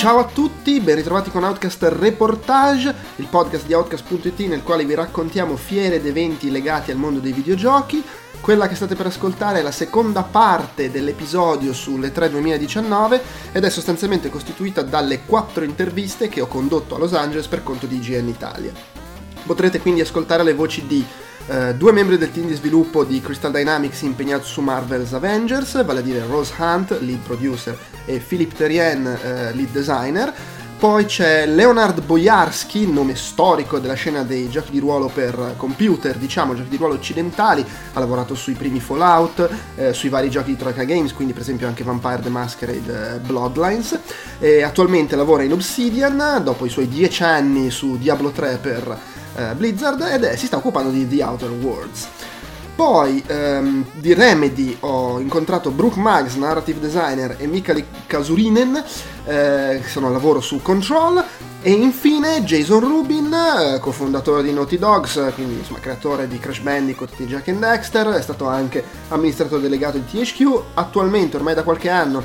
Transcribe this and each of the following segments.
Ciao a tutti, ben ritrovati con Outcast Reportage, il podcast di Outcast.it nel quale vi raccontiamo fiere ed eventi legati al mondo dei videogiochi. Quella che state per ascoltare è la seconda parte dell'episodio sulle 3 2019 ed è sostanzialmente costituita dalle 4 interviste che ho condotto a Los Angeles per conto di IGN Italia. Potrete quindi ascoltare le voci di due membri del team di sviluppo di Crystal Dynamics impegnato su Marvel's Avengers, vale a dire Rose Hunt, lead producer, e Philippe Terrien, lead designer. Poi c'è Leonard Boyarsky, nome storico della scena dei giochi di ruolo per computer, diciamo giochi di ruolo occidentali, ha lavorato sui primi Fallout, sui vari giochi di Troika Games, quindi per esempio anche Vampire the Masquerade, Bloodlines, e attualmente lavora in Obsidian, dopo i suoi 10 anni su Diablo 3 per Blizzard, ed si sta occupando di The Outer Worlds. Poi di Remedy ho incontrato Brooke Maggs, narrative designer, e Mikali Kasurinen, che sono al lavoro su Control, e infine Jason Rubin, cofondatore di Naughty Dogs, quindi insomma creatore di Crash Bandicoot e Jak and Daxter, è stato anche amministratore delegato di THQ, attualmente ormai da qualche anno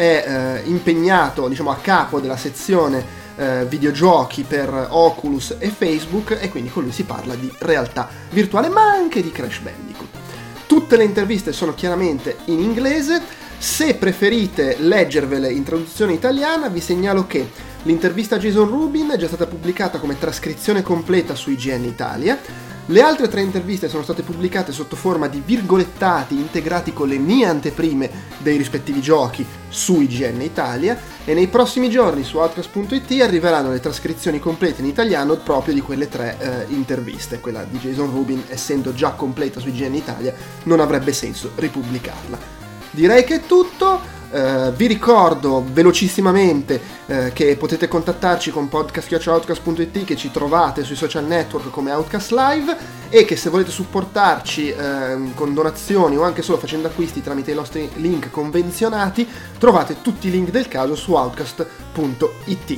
è impegnato, diciamo, a capo della sezione videogiochi per Oculus e Facebook, e quindi con lui si parla di realtà virtuale ma anche di Crash Bandicoot. Tutte le interviste sono chiaramente in inglese. Se preferite leggervele in traduzione italiana, vi segnalo che l'intervista a Jason Rubin è già stata pubblicata come trascrizione completa su IGN Italia. Le altre 3 interviste sono state pubblicate sotto forma di virgolettati integrati con le mie anteprime dei rispettivi giochi su IGN Italia, e nei prossimi giorni su Outcast.it arriveranno le trascrizioni complete in italiano proprio di quelle 3 interviste. Quella di Jason Rubin, essendo già completa su IGN Italia, non avrebbe senso ripubblicarla. Direi che è tutto. Vi ricordo velocissimamente che potete contattarci con podcast@outcast.it, che ci trovate sui social network come Outcast Live, e che se volete supportarci con donazioni o anche solo facendo acquisti tramite i nostri link convenzionati, trovate tutti i link del caso su outcast.it.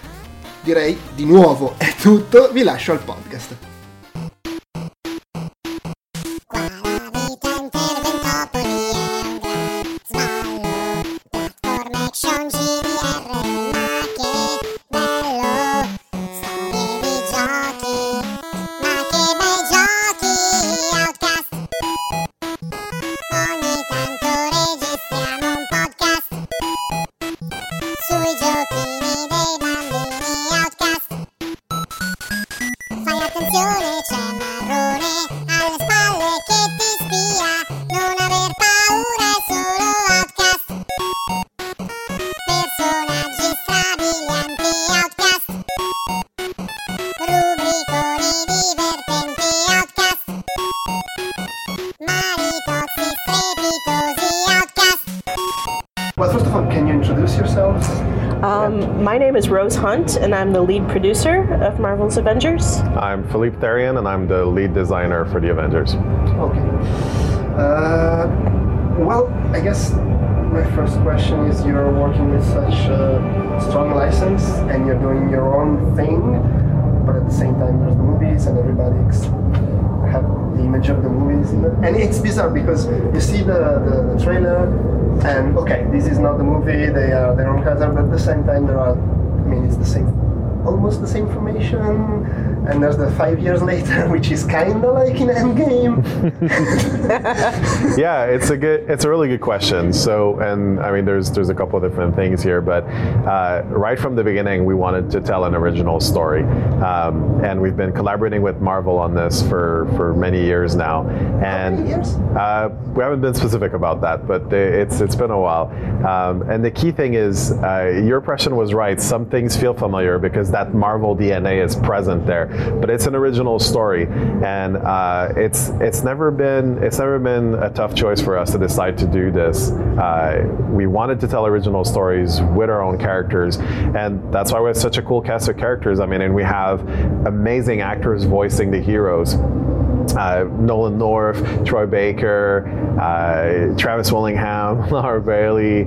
Direi di nuovo è tutto, vi lascio al podcast. Well, first of all, can you introduce yourselves? My name is Rose Hunt, and I'm the lead producer of Marvel's Avengers. I'm Philippe Terrien, and I'm the lead designer for the Avengers. Okay. Well, I guess my first question is, you're working with such a strong license, and you're doing your own thing, but at the same time there's the movies, and everybody have the image of the movies. And it's bizarre because you see the trailer, and okay, this is not the movie, they are their own character, but at the same time it's the same, almost the same information, and there's the 5 years later, which is kind of like in Endgame. Yeah, it's a really good question. So, and I mean, there's a couple of different things here, but right from the beginning, we wanted to tell an original story, and we've been collaborating with Marvel on this for many years now. And how many years? We haven't been specific about that, but it's been a while. And the key thing is, your impression was right. Some things feel familiar because that Marvel DNA is present there. But it's an original story, and it's never been a tough choice for us to decide to do this. We wanted to tell original stories with our own characters, and that's why we have such a cool cast of characters. I mean, and we have amazing actors voicing the heroes. Nolan North, Troy Baker, Travis Willingham, Laura Bailey.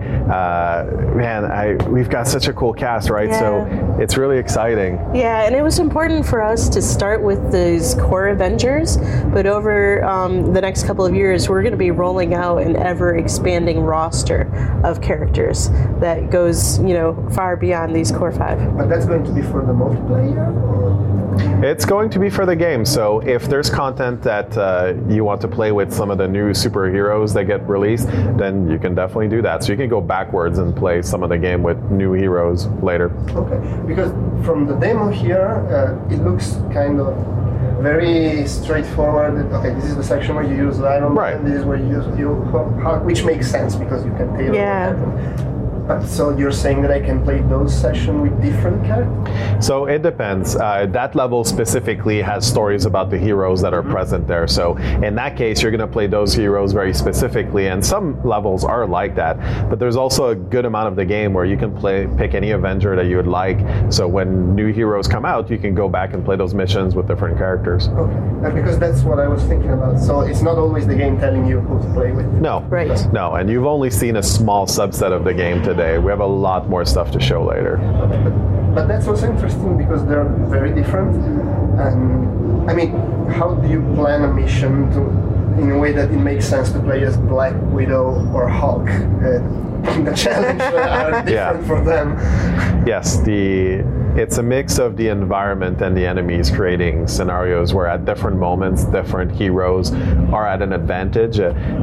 We've got such a cool cast, right? Yeah. So it's really exciting. Yeah, and it was important for us to start with these core Avengers, but over the next couple of years, we're going to be rolling out an ever-expanding roster of characters that goes, far beyond these core 5. But that's going to be for the multiplayer? Or? It's going to be for the game. So if there's content that you want to play with some of the new superheroes that get released, then you can definitely do that. So you can go backwards and play some of the game with new heroes later. Okay, because from the demo here, it looks kind of very straightforward. Okay, this is the section where you use Iron Man, right. This is where you use Hulk, which makes sense because you can tailor it. But so you're saying that I can play those sessions with different characters? So it depends. That level specifically has stories about the heroes that are present there. So in that case, you're going to play those heroes very specifically, and some levels are like that. But there's also a good amount of the game where you can pick any Avenger that you would like. So when new heroes come out, you can go back and play those missions with different characters. Okay, because that's what I was thinking about. So it's not always the game telling you who to play with. No, right. No, and you've only seen a small subset of the game today. We have a lot more stuff to show later. But that's also interesting because they're very different. And I mean, how do you plan a mission in a way that it makes sense to play as Black Widow or Hulk? The challenges are different for them. Yes, it's a mix of the environment and the enemies, creating scenarios where at different moments, different heroes are at an advantage.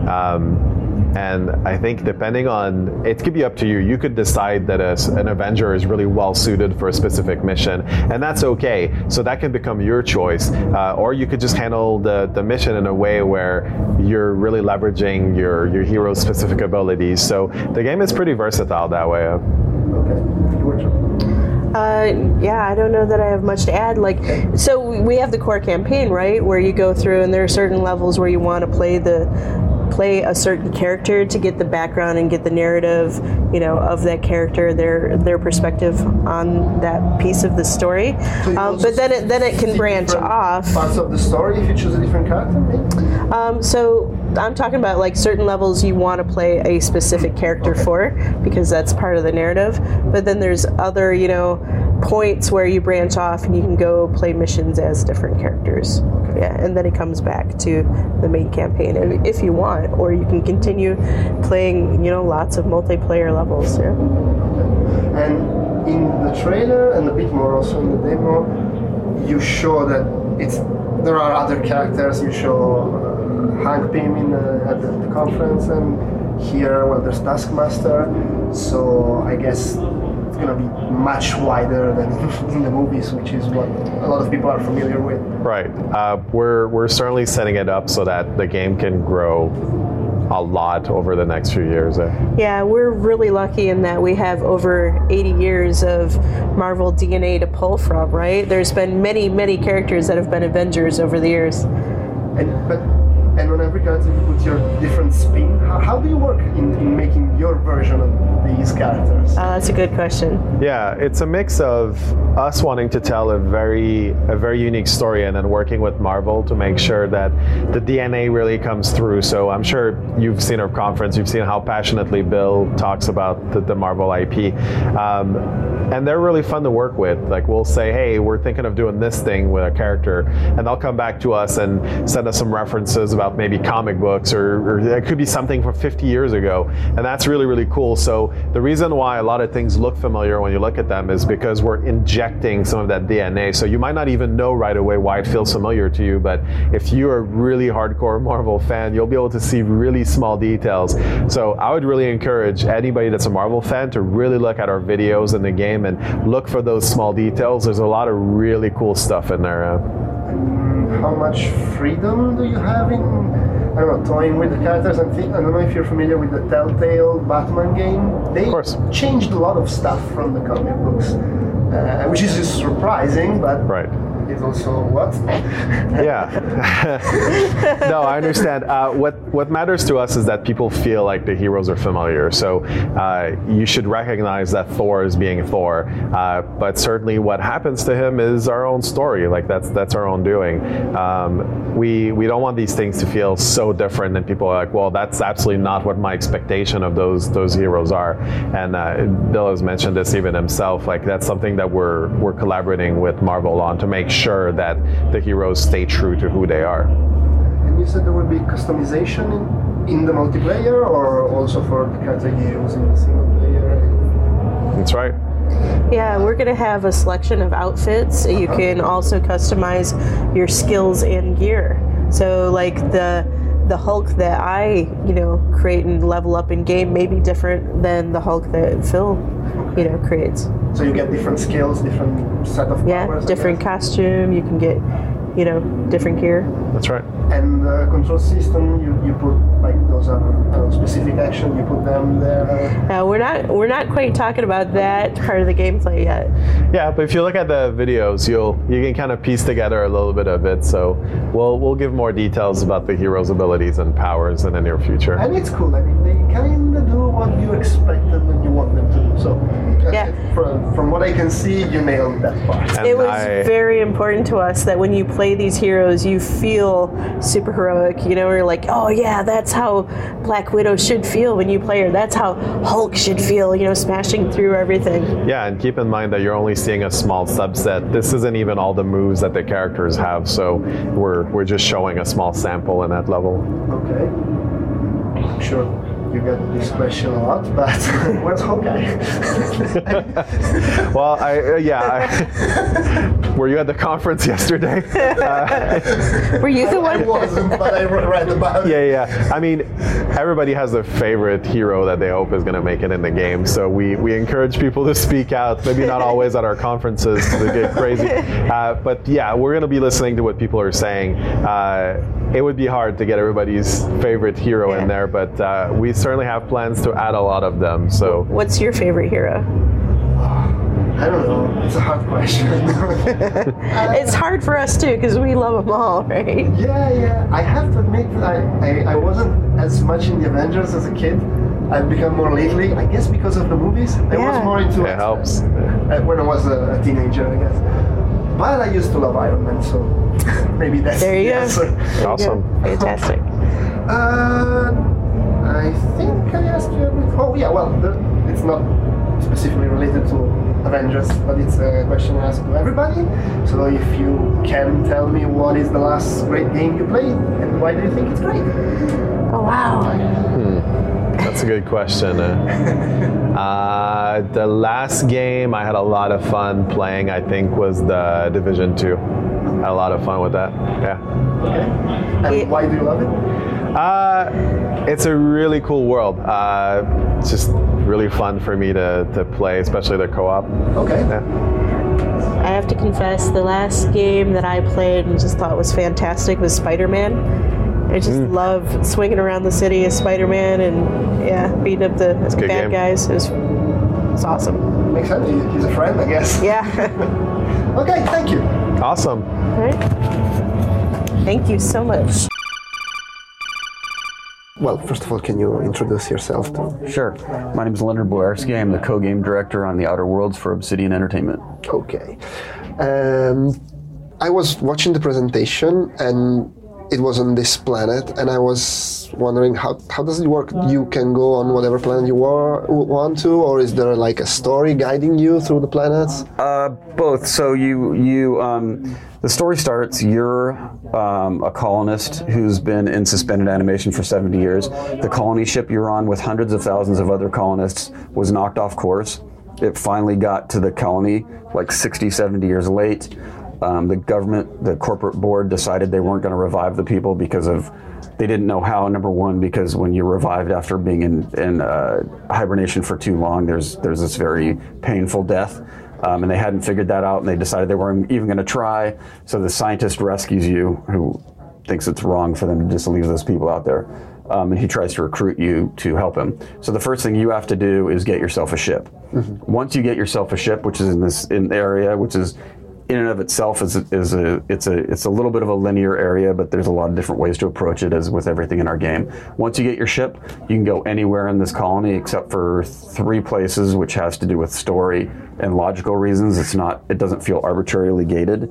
And I think depending on, it could be up to you. You could decide that an Avenger is really well suited for a specific mission, and that's okay. So that can become your choice. Or you could just handle the mission in a way where you're really leveraging your hero's specific abilities. So the game is pretty versatile that way. Yeah, I don't know that I have much to add. So we have the core campaign, right, where you go through, and there are certain levels where you want to play a certain character to get the background and get the narrative, of that character, their perspective on that piece of the story. So but then it can branch off. Parts of the story if you choose a different character, maybe? So I'm talking about certain levels you want to play a specific character for, because that's part of the narrative. But then there's other, points where you branch off and you can go play missions as different characters. Yeah, and then it comes back to the main campaign if you want, or you can continue playing, lots of multiplayer levels. Yeah. And in the trailer and a bit more also in the demo, you show that there are other characters. You show Hank Pym at the conference, and here, there's Taskmaster. So I guess it's going to be much wider than in the movies, which is what a lot of people are familiar with. Right. We're certainly setting it up so that the game can grow a lot over the next few years. Yeah, we're really lucky in that we have over 80 years of Marvel DNA to pull from, right? There's been many, many characters that have been Avengers over the years. And on every character you put your different spin. How do you work in making your version of these characters? That's a good question. Yeah, it's a mix of us wanting to tell a very unique story, and then working with Marvel to make sure that the DNA really comes through. So I'm sure you've seen our conference, you've seen how passionately Bill talks about the Marvel IP. And they're really fun to work with. We'll say, hey, we're thinking of doing this thing with a character, and they'll come back to us and send us some references about maybe comic books, or it could be something from 50 years ago. And that's really, really cool. So the reason why a lot of things look familiar when you look at them is because we're injecting some of that DNA. So you might not even know right away why it feels familiar to you, but if you're a really hardcore Marvel fan, you'll be able to see really small details. So I would really encourage anybody that's a Marvel fan to really look at our videos in the game and look for those small details. There's a lot of really cool stuff in there. How much freedom do you have in, toying with the characters? I don't know if you're familiar with the Telltale Batman game. They changed a lot of stuff from the comic books, which is just surprising, but right. is also what? Yeah. No, I understand. What matters to us is that people feel like the heroes are familiar. So you should recognize that Thor is being Thor, but certainly what happens to him is our own story. Like that's our own doing. We don't want these things to feel so different, and people are like, well, that's absolutely not what my expectation of those heroes are. And Bill has mentioned this even himself. Like that's something that we're collaborating with Marvel on to make sure that the heroes stay true to who they are. And you said there will be customization in the multiplayer, or also for the character you use in the single player? That's right. Yeah, we're going to have a selection of outfits. You can also customize your skills and gear. So like the Hulk that I, create and level up in game may be different than the Hulk that Phil, creates. So you get different skills, different set of powers. Yeah, different costume. You can get, different gear. That's right. And the control system, you put like those are specific action. You put them there. We're not quite talking about that part of the gameplay yet. Yeah, but if you look at the videos, you can kind of piece together a little bit of it. So we'll give more details about the heroes' abilities and powers in the near future. And it's cool. I mean, they kind of do what you expected when you want them to do. So yeah. From what I can see, you nailed that part. And it was very important to us that when you play these heroes, you feel super heroic. We're like, oh yeah, that's how Black Widow should feel when you play her. That's how Hulk should feel, smashing through everything. Yeah, and keep in mind that you're only seeing a small subset. This isn't even all the moves that the characters have, so we're just showing a small sample in that level. Okay. I'm sure you get this question a lot, but where's Hawkeye? Well, were you at the conference yesterday? Were you the one? I wasn't, but I read about it. Yeah. I mean, everybody has a favorite hero that they hope is going to make it in the game. So we encourage people to speak out. Maybe not always at our conferences to get crazy. But yeah, we're going to be listening to what people are saying. It would be hard to get everybody's favorite hero in there, but we certainly have plans to add a lot of them. So, what's your favorite hero? I don't know. It's a hard question. It's hard for us too because we love them all, right? Yeah. I have to admit, I wasn't as much in the Avengers as a kid. I've become more lately, I guess, because of the movies. I was more into it. Helps. When I was a teenager, I guess. But I used to love Iron Man, so maybe that's there you the answer. Go. Awesome. Fantastic. I think I asked you everything. Oh yeah, well, it's not specifically related to Avengers, but it's a question I ask to everybody. So if you can tell me what is the last great game you played and why do you think it's great? Oh wow. That's a good question. The last game I had a lot of fun playing, I think, was the Division 2. Had a lot of fun with that. Yeah. Okay. And why do you love it? It's a really cool world. It's just really fun for me to play, especially the co-op. Okay. Yeah. I have to confess, the last game that I played and just thought was fantastic was Spider-Man. I just love swinging around the city as Spider-Man and beating up the bad guys. It's awesome. Makes sense. He's a friend, I guess. Yeah. Okay, thank you. Awesome. All right. Thank you so much. Well, first of all, can you introduce yourself too? Sure. My name is Leonard Boyarski. I'm the co-game director on The Outer Worlds for Obsidian Entertainment. Okay. I was watching the presentation and it was on this planet, and I was wondering how does it work? You can go on whatever planet you want to, or is there like a story guiding you through the planets? Both. So the story starts, you're a colonist who's been in suspended animation for 70 years. The colony ship you're on with hundreds of thousands of other colonists was knocked off course. It finally got to the colony like 60, 70 years late. The government, the corporate board decided they weren't going to revive the people because they didn't know how. Number one, because when you're revived after being in hibernation for too long, there's this very painful death. And they hadn't figured that out, and they decided they weren't even going to try. So the scientist rescues you, who thinks it's wrong for them to just leave those people out there. And he tries to recruit you to help him. So the first thing you have to do is get yourself a ship. Mm-hmm. Once you get yourself a ship, which is in the area, which is in and of itself it's a little bit of a linear area, but there's a lot of different ways to approach it, as with everything in our game. Once you get your ship, you can go anywhere in this colony except for 3 places, which has to do with story and logical reasons. It doesn't feel arbitrarily gated.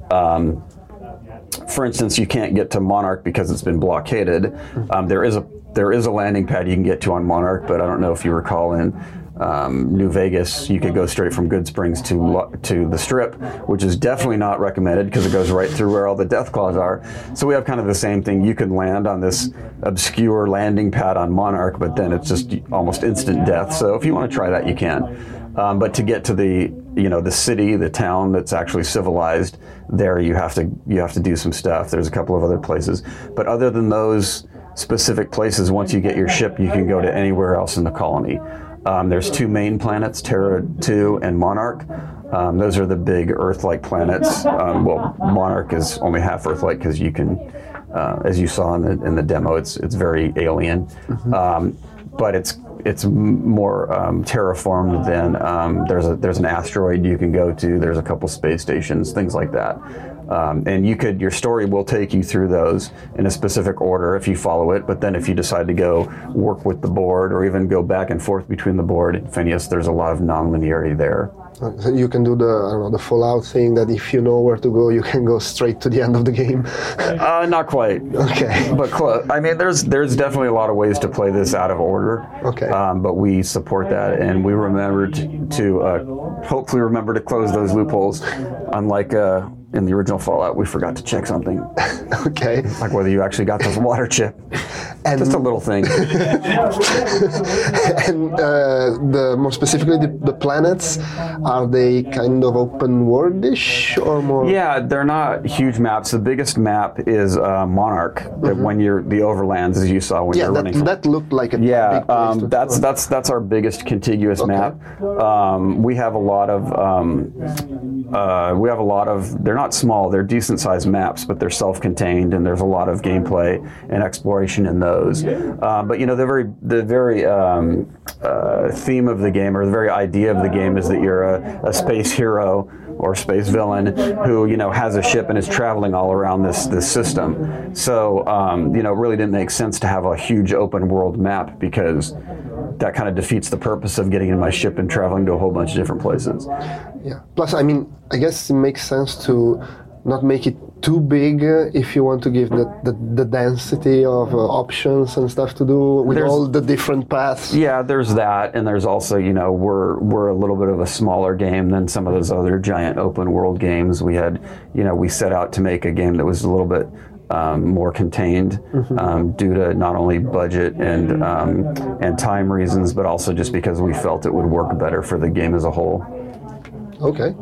For instance, you can't get to Monarch because it's been blockaded. There is a landing pad you can get to on Monarch, but I don't know if you recall in New Vegas, you could go straight from Goodsprings to the Strip, which is definitely not recommended because it goes right through where all the Deathclaws are. So we have kind of the same thing. You can land on this obscure landing pad on Monarch, but then it's just almost instant death. So if you want to try that, you can. But to get to the city, the town that's actually civilized, there you have to do some stuff. There's a couple of other places, but other than those specific places, once you get your ship, you can go to anywhere else in the colony. There's 2 main planets, Terra 2 and Monarch. Those are the big Earth-like planets. Monarch is only half Earth-like because you can, as you saw in the demo, it's very alien. But it's more terraformed than there's an asteroid you can go to. There's a couple space stations, things like that. And your story will take you through those in a specific order if you follow it. But then if you decide to go work with the board or even go back and forth between the board and Phineas, there's a lot of non-linearity there. So you can do the Fallout thing that if you know where to go, you can go straight to the end of the game. Not quite. Okay. But close. I mean, there's definitely a lot of ways to play this out of order. Okay. But we support that, and we remembered to hopefully remember to close those loopholes. Unlike in the original Fallout, we forgot to check something. Okay. Like whether you actually got the water chip. And just a little thing. And more specifically, the planets, are they kind of open worldish or more? Yeah, they're not huge maps. The biggest map is Monarch. When you're the overlands, as you saw when you're running. That looked like a big place that's our biggest contiguous map. We have a lot of. They're not small. They're decent sized maps, but they're self-contained, and there's a lot of gameplay and exploration in those. But the very theme of the game, or the very idea of the game, is that you're a space hero or space villain who has a ship and is traveling all around this system. So it really didn't make sense to have a huge open world map, because that kind of defeats the purpose of getting in my ship and traveling to a whole bunch of different places. Yeah. Plus, I mean, I guess it makes sense to not make it too big if you want to give the density of options and stuff to do with all the different paths. Yeah, there's that, and there's also, we're a little bit of a smaller game than some of those other giant open world games. We had, we set out to make a game that was a little bit more contained due to not only budget and time reasons, but also just because we felt it would work better for the game as a whole. Okay.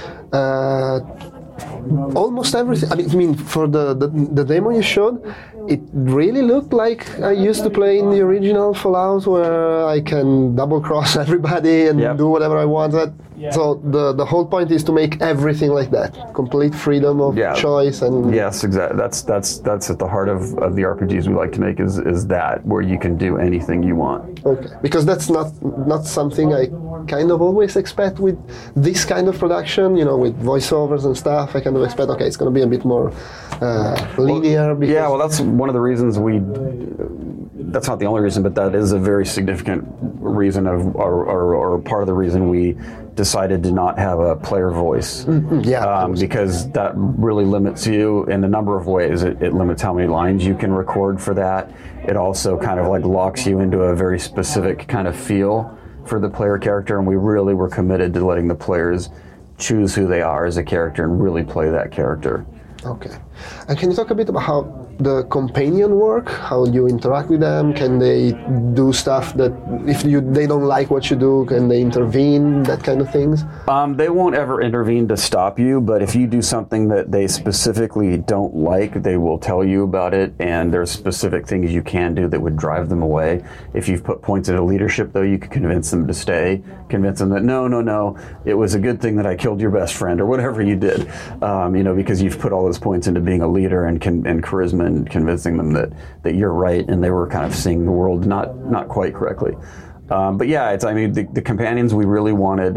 Almost everything. I mean, for the demo you showed, it really looked like I used to play in the original Fallout, where I can double cross everybody and do whatever I wanted. So the whole point is to make everything like that, complete freedom of choice. And yes, exactly. That's at the heart of the RPGs we like to make, is that where you can do anything you want. Okay, because that's not something I kind of always expect with this kind of production. With voiceovers and stuff, I kind of expect, okay, it's going to be a bit more linear. Well, that's one of the reasons that's not the only reason, but that is a very significant reason or part of the reason we decided to not have a player voice. Because that really limits you in a number of ways. It limits how many lines you can record for that. It also kind of like locks you into a very specific kind of feel for the player character, and we really were committed to letting the players choose who they are as a character and really play that character. Okay. And can you talk a bit about how the companion work, how you interact with them? Can they do stuff that if they don't like what you do, can they intervene, that kind of things? They won't ever intervene to stop you, but if you do something that they specifically don't like, they will tell you about it, and there's specific things you can do that would drive them away. If you've put points into leadership, though, you could convince them to stay, convince them that no, it was a good thing that I killed your best friend, or whatever you did, because you've put all those points into being a leader and charisma and convincing them that you're right, and they were kind of seeing the world not quite correctly. But yeah, the companions, we really wanted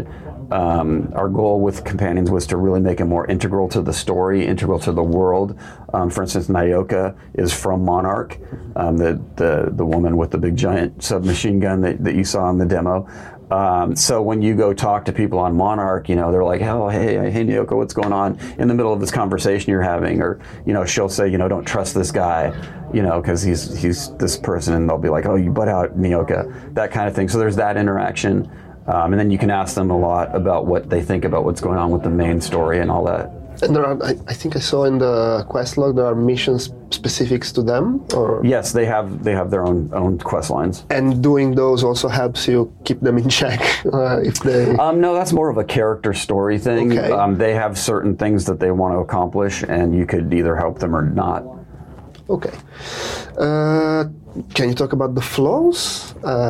Our goal with Companions was to really make it more integral to the story, integral to the world. For instance, Nyoka is from Monarch, the woman with the big giant submachine gun that you saw in the demo. So when you go talk to people on Monarch, they're like, oh, hey, Nyoka, what's going on? In the middle of this conversation you're having, or, she'll say, don't trust this guy, because he's this person, and they'll be like, oh, you butt out, Nyoka, that kind of thing. So there's that interaction. And then you can ask them a lot about what they think about what's going on with the main story and all that. And there are, I think I saw in the quest log, there are missions specifics to them, or? Yes, they have their own quest lines. And doing those also helps you keep them in check if they... No, that's more of a character story thing. Okay. They have certain things that they want to accomplish, and you could either help them or not. Okay. Can you talk about the flaws?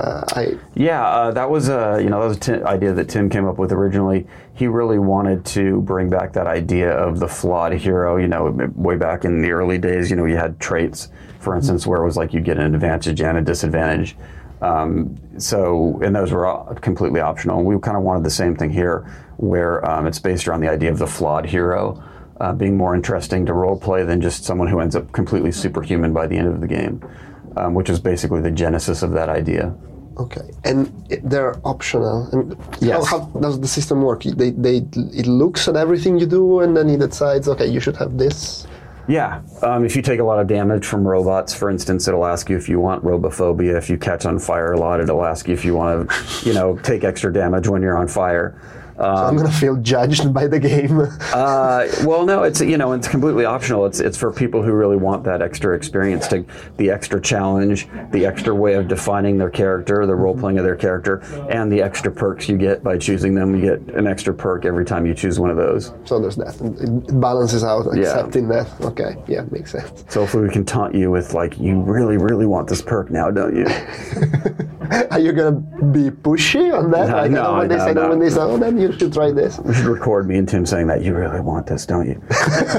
That was an idea that Tim came up with originally. He really wanted to bring back that idea of the flawed hero. Way back in the early days, you had traits, for instance, where it was like you get an advantage and a disadvantage. And those were completely optional. And we kind of wanted the same thing here, where it's based around the idea of the flawed hero. Being more interesting to roleplay than just someone who ends up completely superhuman by the end of the game, which is basically the genesis of that idea. Okay, and they're optional. I mean, yes. How does the system work? It looks at everything you do, and then it decides, okay, you should have this. Yeah, if you take a lot of damage from robots, for instance, it'll ask you if you want robophobia. If you catch on fire a lot, it'll ask you if you want to, take extra damage when you're on fire. So I'm going to feel judged by the game. Well, no, it's it's completely optional. It's for people who really want that extra experience, the extra challenge, the extra way of defining their character, the role playing of their character, and the extra perks you get by choosing them. You get an extra perk every time you choose one of those. So there's that. It balances out accepting that. Okay, yeah, makes sense. So hopefully we can taunt you with you really, really want this perk now, don't you? Are you going to be pushy on that? No, when they say no, when they say, oh, then you should try this. We should record me and Tim saying that. You really want this, don't you?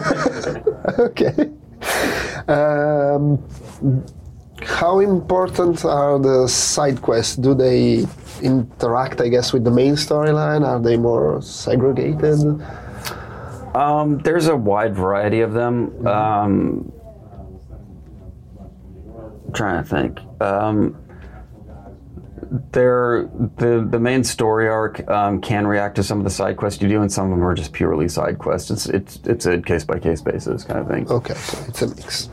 Okay. How important are the side quests? Do they interact, I guess, with the main storyline? Are they more segregated? There's a wide variety of them. I'm trying to think. The main story arc can react to some of the side quests you do, and some of them are just purely side quests. It's a case by case basis kind of thing. Okay, so it's a mix.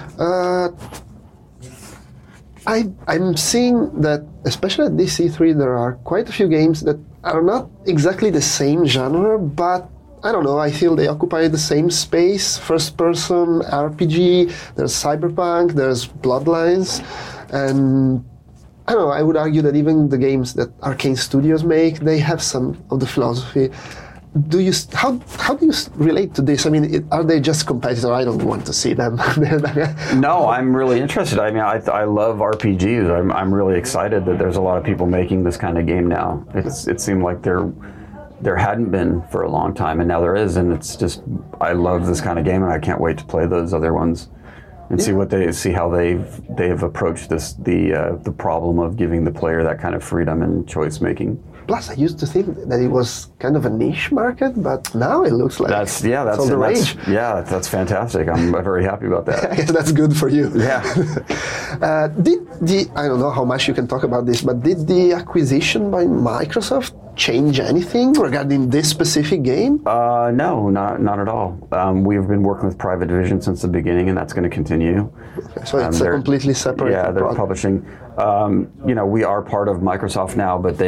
I'm seeing that, especially at this E3, there are quite a few games that are not exactly the same genre, but I don't know, I feel they occupy the same space. First person RPG, there's Cyberpunk, there's Bloodlines, and I don't know, I would argue that even the games that Arcane Studios make, they have some of the philosophy. How do you relate to this? I mean, are they just competitors? I don't want to see them. No, I'm really interested. I mean, I love RPGs. I'm really excited that there's a lot of people making this kind of game now. It seemed like there hadn't been for a long time, and now there is, and it's just, I love this kind of game, and I can't wait to play those other ones. And see how they've approached the problem of giving the player that kind of freedom and choice making. Plus, I used to think that it was kind of a niche market, but now it looks like that's all the rage. That's fantastic. I'm very happy about that. I guess that's good for you. Yeah. I don't know how much you can talk about this, but did the acquisition by Microsoft change anything regarding this specific game? No, not at all. We've been working with Private Division since the beginning, and that's going to continue. Okay, so it's a completely separate. Yeah, they're product. Publishing. We are part of Microsoft now, but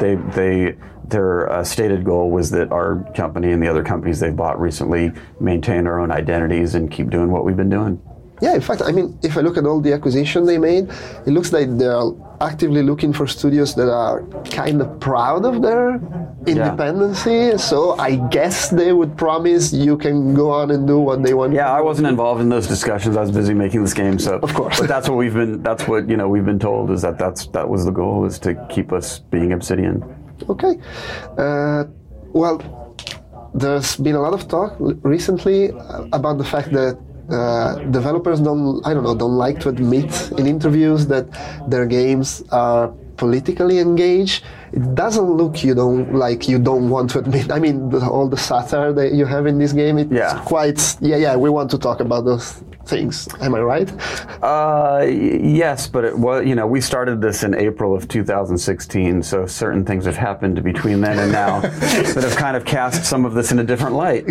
their stated goal was that our company and the other companies they've bought recently maintain our own identities and keep doing what we've been doing. Yeah, in fact, I mean, if I look at all the acquisition they made, it looks like they're actively looking for studios that are kind of proud of their independency. Yeah. So I guess they would promise you can go on and do what they want. Yeah, I wasn't involved in those discussions. I was busy making this game. So of course, but that's what we've been told is that was the goal, is to keep us being Obsidian. Okay. Well, there's been a lot of talk recently about the fact that developers don't like to admit in interviews that their games are politically engaged. It doesn't look you don't want to admit. I mean, all the satire that you have in this game, it's quite, we want to talk about those things. Am I right? Yes, but we started this in April of 2016, so certain things have happened between then and now that have kind of cast some of this in a different light.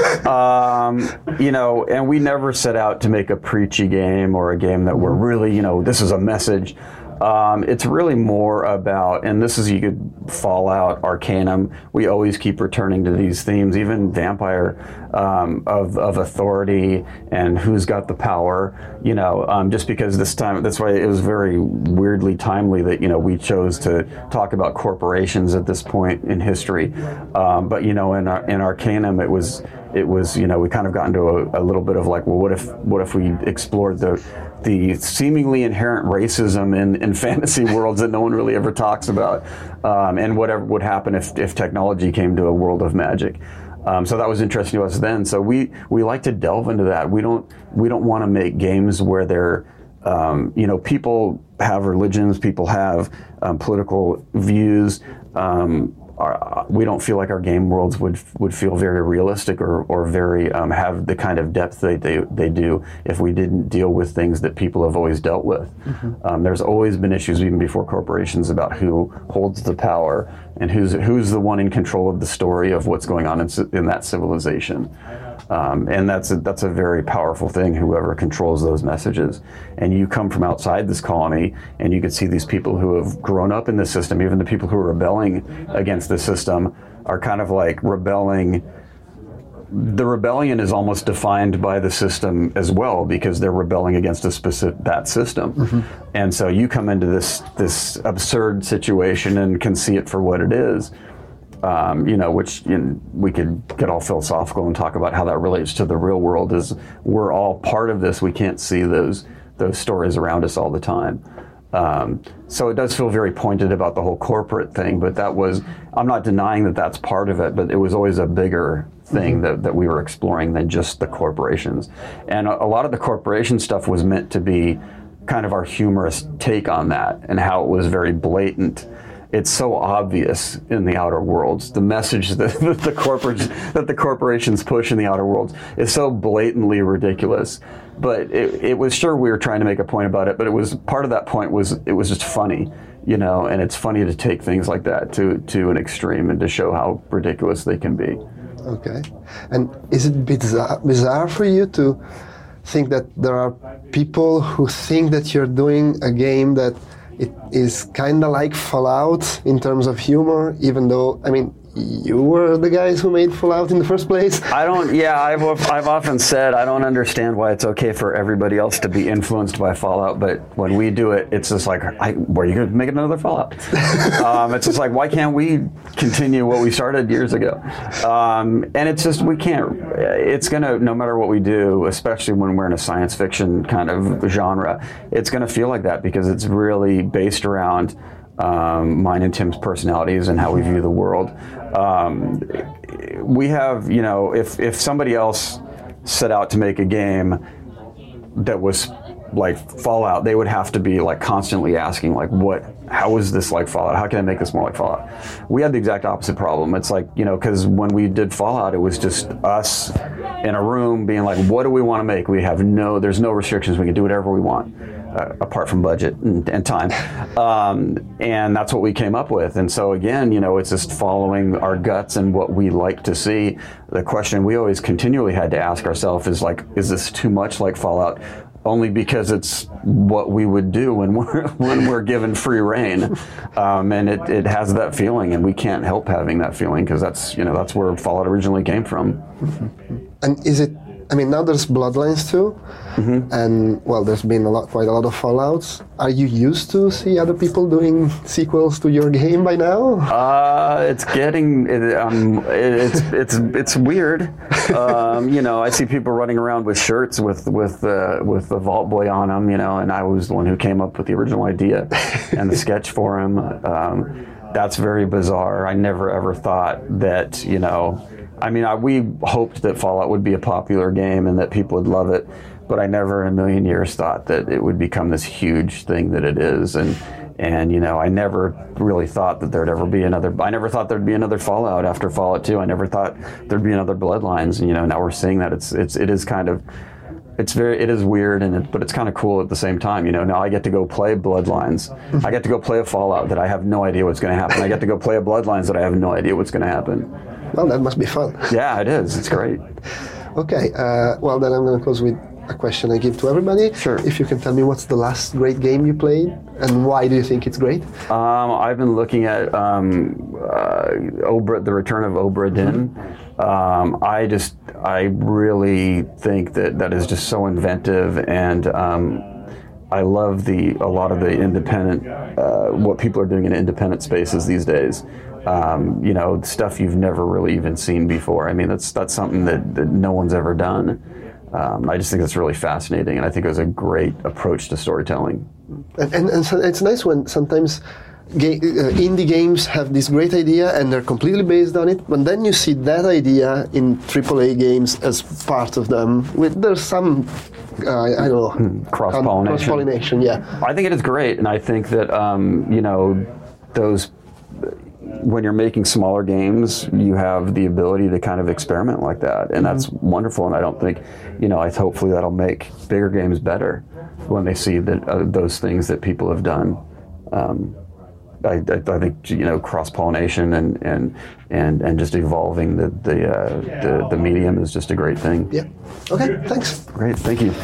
And we never set out to make a preachy game or a game that we're really, this is a message. It's really more about, and this is, you could Fallout, Arcanum, we always keep returning to these themes, even Vampire, of authority and who's got the power, just because this time, that's why it was very weirdly timely that, we chose to talk about corporations at this point in history. But, in Arcanum, it was, we kind of got into a little bit of like, well, what if we explored the seemingly inherent racism in fantasy worlds that no one really ever talks about, and whatever would happen if technology came to a world of magic. So that was interesting to us then. So we like to delve into that. We don't want to make games where they're, people have religions, people have political views. We don't feel like our game worlds would feel very realistic or very have the kind of depth they do if we didn't deal with things that people have always dealt with. Mm-hmm. There's always been issues even before corporations about who holds the power and who's the one in control of the story of what's going on in that civilization. And that's a very powerful thing, whoever controls those messages. And you come from outside this colony, and you can see these people who have grown up in the system, even the people who are rebelling against the system are kind of like rebelling. The rebellion is almost defined by the system as well, because they're rebelling against that system. Mm-hmm. And so you come into this absurd situation and can see it for what it is. Which we could get all philosophical and talk about how that relates to the real world. Is we're all part of this. We can't see those stories around us all the time. So it does feel very pointed about the whole corporate thing, but I'm not denying that that's part of it, but it was always a bigger thing that we were exploring than just the corporations. And a lot of the corporation stuff was meant to be kind of our humorous take on that, and how it was very blatant. It's so obvious in the outer worlds. The message that the corporations push in the outer worlds is so blatantly ridiculous. But it was, sure, we were trying to make a point about it, but it was, part of that point was, it was just funny, and it's funny to take things like that to an extreme and to show how ridiculous they can be. Okay. And is it bizarre for you to think that there are people who think that you're doing a game that it is kind of like Fallout in terms of humor, even though, you were the guys who made Fallout in the first place? I've often said I don't understand why it's okay for everybody else to be influenced by Fallout, but when we do it, it's just like, were you going to make another Fallout? It's just like, why can't we continue what we started years ago? And it's just, we can't, it's going to, no matter what we do, especially when we're in a science fiction kind of genre, it's going to feel like that, because it's really based around mine and Tim's personalities and how we view the world. We have, if somebody else set out to make a game that was like Fallout, they would have to be like constantly asking, like, how is this like Fallout? How can I make this more like Fallout? We had the exact opposite problem. It's like, because when we did Fallout, it was just us in a room being like, what do we want to make? There's no restrictions. We can do whatever we want. Apart from budget and time. And that's what we came up with. And so again, it's just following our guts and what we like to see. The question we always continually had to ask ourselves is like, is this too much like Fallout? Only because it's what we would do when we're given free reign. And it has that feeling, and we can't help having that feeling, because that's where Fallout originally came from. And is it, now there's Bloodlines too, and there's been quite a lot of Fallouts. Are you used to see other people doing sequels to your game by now? It's getting, it's weird. I see people running around with shirts with the Vault Boy on them, and I was the one who came up with the original idea and the sketch for him. That's very bizarre. I never ever thought that, we hoped that Fallout would be a popular game and that people would love it, but I never in a million years thought that it would become this huge thing that it is. And And I never really thought that there'd ever be another. I never thought there'd be another Fallout after Fallout 2. I never thought there'd be another Bloodlines. And now we're seeing that it is kind of. It is weird, but it's kind of cool at the same time. Now I get to go play Bloodlines. I get to go play a Fallout that I have no idea what's going to happen. I get to go play a Bloodlines that I have no idea what's going to happen. Well, that must be fun. Yeah, it is. It's great. Okay. Well, then I'm going to close with a question I give to everybody. Sure. If you can tell me what's the last great game you played, and why do you think it's great? I've been looking at The Return of Obra Dinn. I really think that is just so inventive, and I love a lot of the independent, what people are doing in independent spaces these days. Stuff you've never really even seen before. I mean, that's something that no one's ever done. I just think that's really fascinating, and I think it was a great approach to storytelling. And so it's nice when sometimes indie games have this great idea and they're completely based on it, but then you see that idea in AAA games as part of them. There's some, I don't know, cross-pollination. Yeah. I think it is great, and I think that those. When you're making smaller games, you have the ability to kind of experiment like that, and that's wonderful. And I don't think, hopefully that'll make bigger games better when they see that those things that people have done. I think cross-pollination and just evolving the medium is just a great thing. Yeah. Okay. Thanks. Great. Thank you.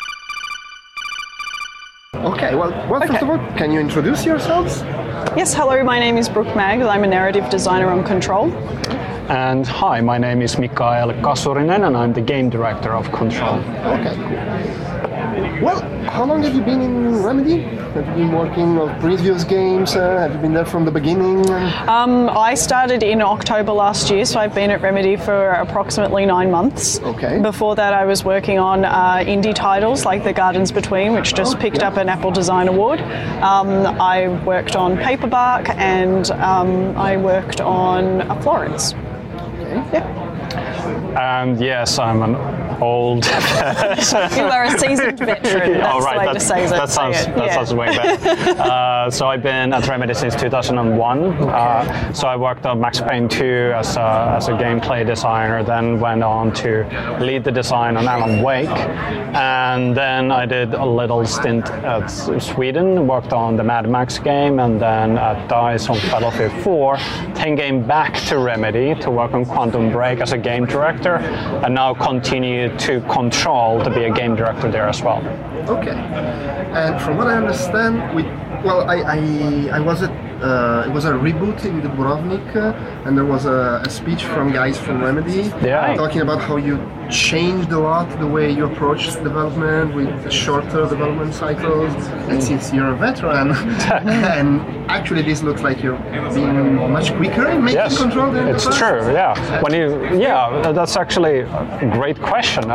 Okay. Well, first of all, can you introduce yourselves? Yes, hello, my name is Brooke Magg. I'm a narrative designer on Control. And hi, my name is Mikael Kasurinen, and I'm the game director of Control. Okay, cool. Well, how long have you been in Remedy? Have you been working on previous games? Have you been there from the beginning? I started in October last year, so I've been at Remedy for approximately 9 months. Okay. Before that, I was working on indie titles like The Gardens Between, which just picked up an Apple Design Award. I worked on Paperbark, and I worked on Florence. Okay. Yeah. And yes, I'm an old person. You are a seasoned veteran. That's the way to say it. That sounds way better. So I've been at Remedy since 2001. Okay. So I worked on Max Payne 2 as a gameplay designer, then went on to lead the design on Alan Wake. And then I did a little stint at Sweden, worked on the Mad Max game, and then at DICE on Battlefield 4. Then came back to Remedy to work on Quantum Break as a game director, and now continue to Control to be a game director there as well. Okay. And from what I understand, I was at it was a reboot in Dubrovnik, and there was a speech from guys from Remedy talking about how you changed a lot the way you approach development with shorter development cycles. And since you're a veteran, and actually this looks like you're being much quicker in making Control than it's true. Yeah. That's actually a great question.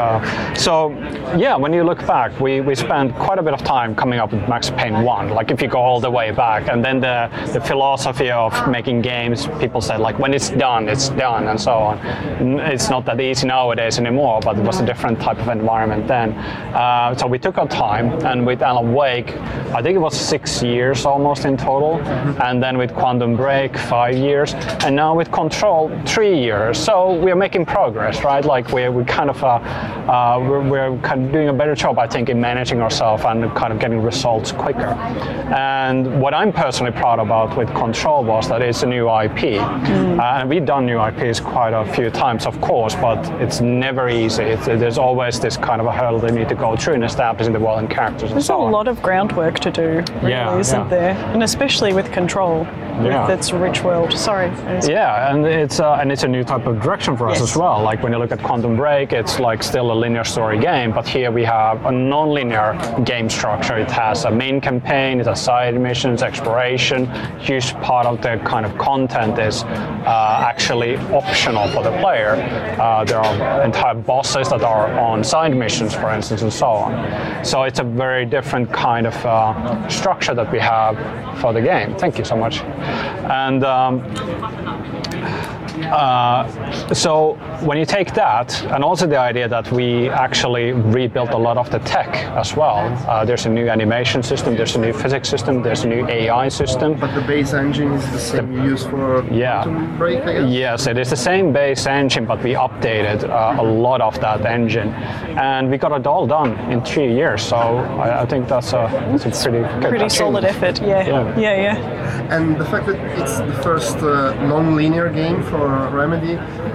When you look back, we spent quite a bit of time coming up with Max Payne 1. Like if you go all the way back, and then the philosophy of making games, people said like when it's done, and so on. It's not that easy nowadays anymore, but it was a different type of environment then. So we took our time, and with Alan Wake, I think it was 6 years almost in total, and then with Quantum Break 5 years, and now with Control 3 years. So we are making progress, right? Like we're kind of doing a better job, I think, in managing ourselves and kind of getting results quicker. And what I'm personally proud about with Control was that it's a new IP. And we've done new IPs quite a few times, of course, but it's never easy. There's always this kind of a hurdle they need to go through in establishing the world and characters and so on. There's a lot of groundwork to do, really, isn't there? And especially with Control, with its rich world. Sorry. Yeah, and it's a new type of direction for us as well. Like when you look at Quantum Break, it's like still a linear story game, but here we have a non-linear game structure. It has a main campaign, it has side missions, exploration. Huge part of the kind of content is actually optional for the player. There are entire bosses that are on side missions, for instance, and so on. So it's a very different kind of structure that we have for the game. Thank you so much. And So when you take that, and also the idea that we actually rebuilt a lot of the tech as well. There's a new animation system, there's a new physics system, there's a new AI system. But the base engine is the same you use for Quantum Break, I guess? Yes, it is the same base engine, but we updated a lot of that engine. And we got it all done in 3 years, so I think that's a pretty solid effort, yeah. And the fact that it's the first non-linear game for Remedy,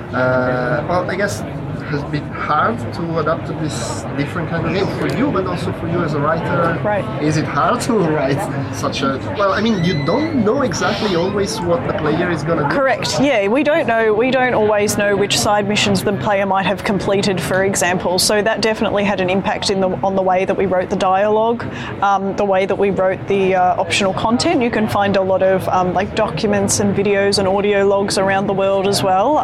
well, I guess has been hard to adapt to this different kind of game for you, but also for you as a writer. Right. Is it hard to write such a... Well, I mean, you don't know exactly always what the player is going to do. Correct, yeah. We don't always know which side missions the player might have completed, for example. So that definitely had an impact on the way that we wrote the dialogue, the way that we wrote the optional content. You can find a lot of like documents and videos and audio logs around the world as well.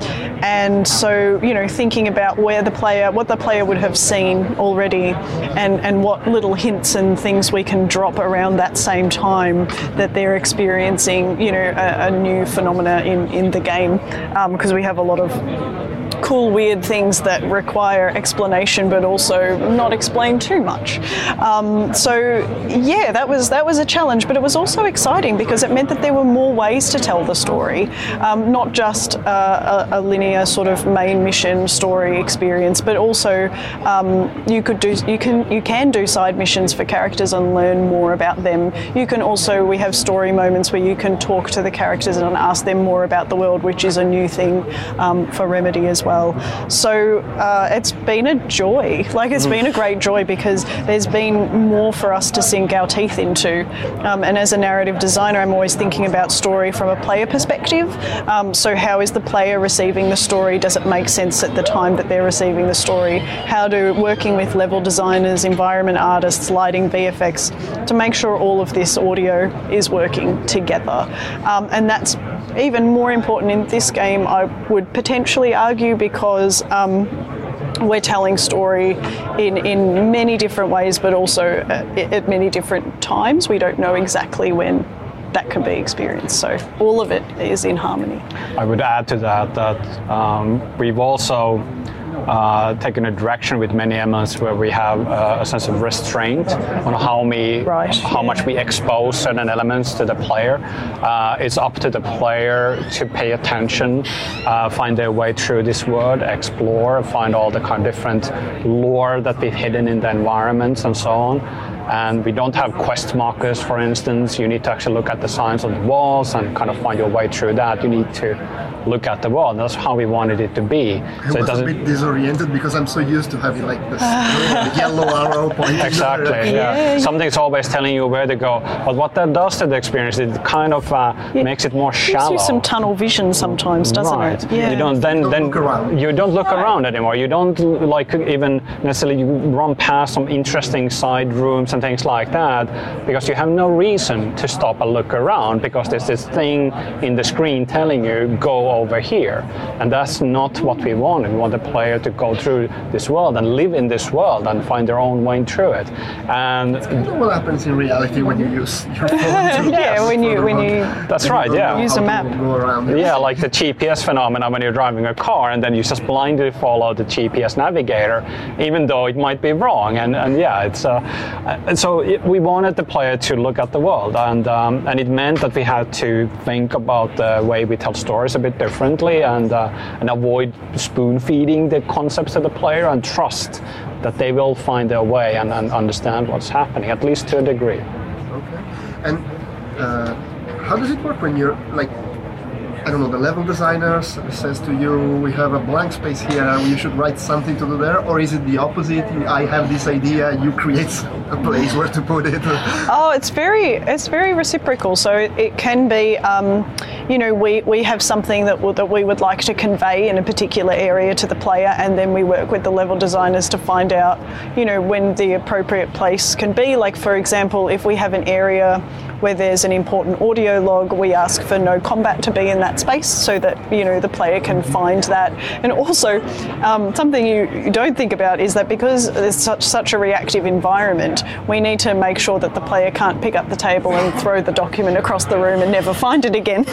And so, you know, thinking about what the player would have seen already, and what little hints and things we can drop around that same time that they're experiencing, you know, a new phenomena in the game, because we have a lot of cool, weird things that require explanation, but also not explain too much. So yeah, that was a challenge, but it was also exciting because it meant that there were more ways to tell the story, not just a linear sort of main mission story experience, but also you can do side missions for characters and learn more about them. You can also, we have story moments where you can talk to the characters and ask them more about the world, which is a new thing for Remedy as well. So it's been a joy. Like, it's been a great joy because there's been more for us to sink our teeth into. And as a narrative designer, I'm always thinking about story from a player perspective. So how is the player receiving the story? Does it make sense at the time that they're receiving the story? How do working with level designers, environment artists, lighting, VFX, to make sure all of this audio is working together. And that's even more important in this game, I would potentially argue, because we're telling story in many different ways, but also at many different times. We don't know exactly when that can be experienced. So all of it is in harmony. I would add to that we've also taken a direction with many MMOs where we have a sense of restraint on how much we expose certain elements to the player. It's up to the player to pay attention, find their way through this world, explore, find all the kind of different lore that we've hidden in the environments and so on. And we don't have quest markers, for instance. You need to actually look at the signs on the walls and kind of find your way through that. You need to look at the world. That's how we wanted it to be. I was a bit disoriented because I'm so used to having like this yellow arrow pointing. Exactly. Yeah. Something's always telling you where to go. But what that does to the experience, it kind of makes it more shallow. Gives you some tunnel vision sometimes, doesn't it? Yeah. You don't look around. You don't look around anymore. You don't like even necessarily run past some interesting side rooms and things like that, because you have no reason to stop and look around, because there's this thing in the screen telling you go over here, and that's not what we want. We want the player to go through this world and live in this world and find their own way through it. And what happens in reality when you use your phone to when you that's right, yeah, use a map. Go around. Yeah, like the GPS phenomenon when you're driving a car and then you just blindly follow the GPS navigator, even though it might be wrong. And yeah, it's so we wanted the player to look at the world, and it meant that we had to think about the way we tell stories a bit differently, and avoid spoon feeding the concepts to the player, and trust that they will find their way and understand what's happening, at least to a degree. Okay. And how does it work when you're like, I don't know, the level designer says to you, we have a blank space here, you should write something to do there, or is it the opposite? I have this idea, you create a place where to put it? Oh, it's very reciprocal. So it can be, you know, we have something that we would like to convey in a particular area to the player, and then we work with the level designers to find out, you know, when the appropriate place can be. Like, for example, if we have an area where there's an important audio log, we ask for no combat to be in that space so that, you know, the player can find that. And also, something you don't think about is that because there's such a reactive environment, we need to make sure that the player can't pick up the table and throw the document across the room and never find it again.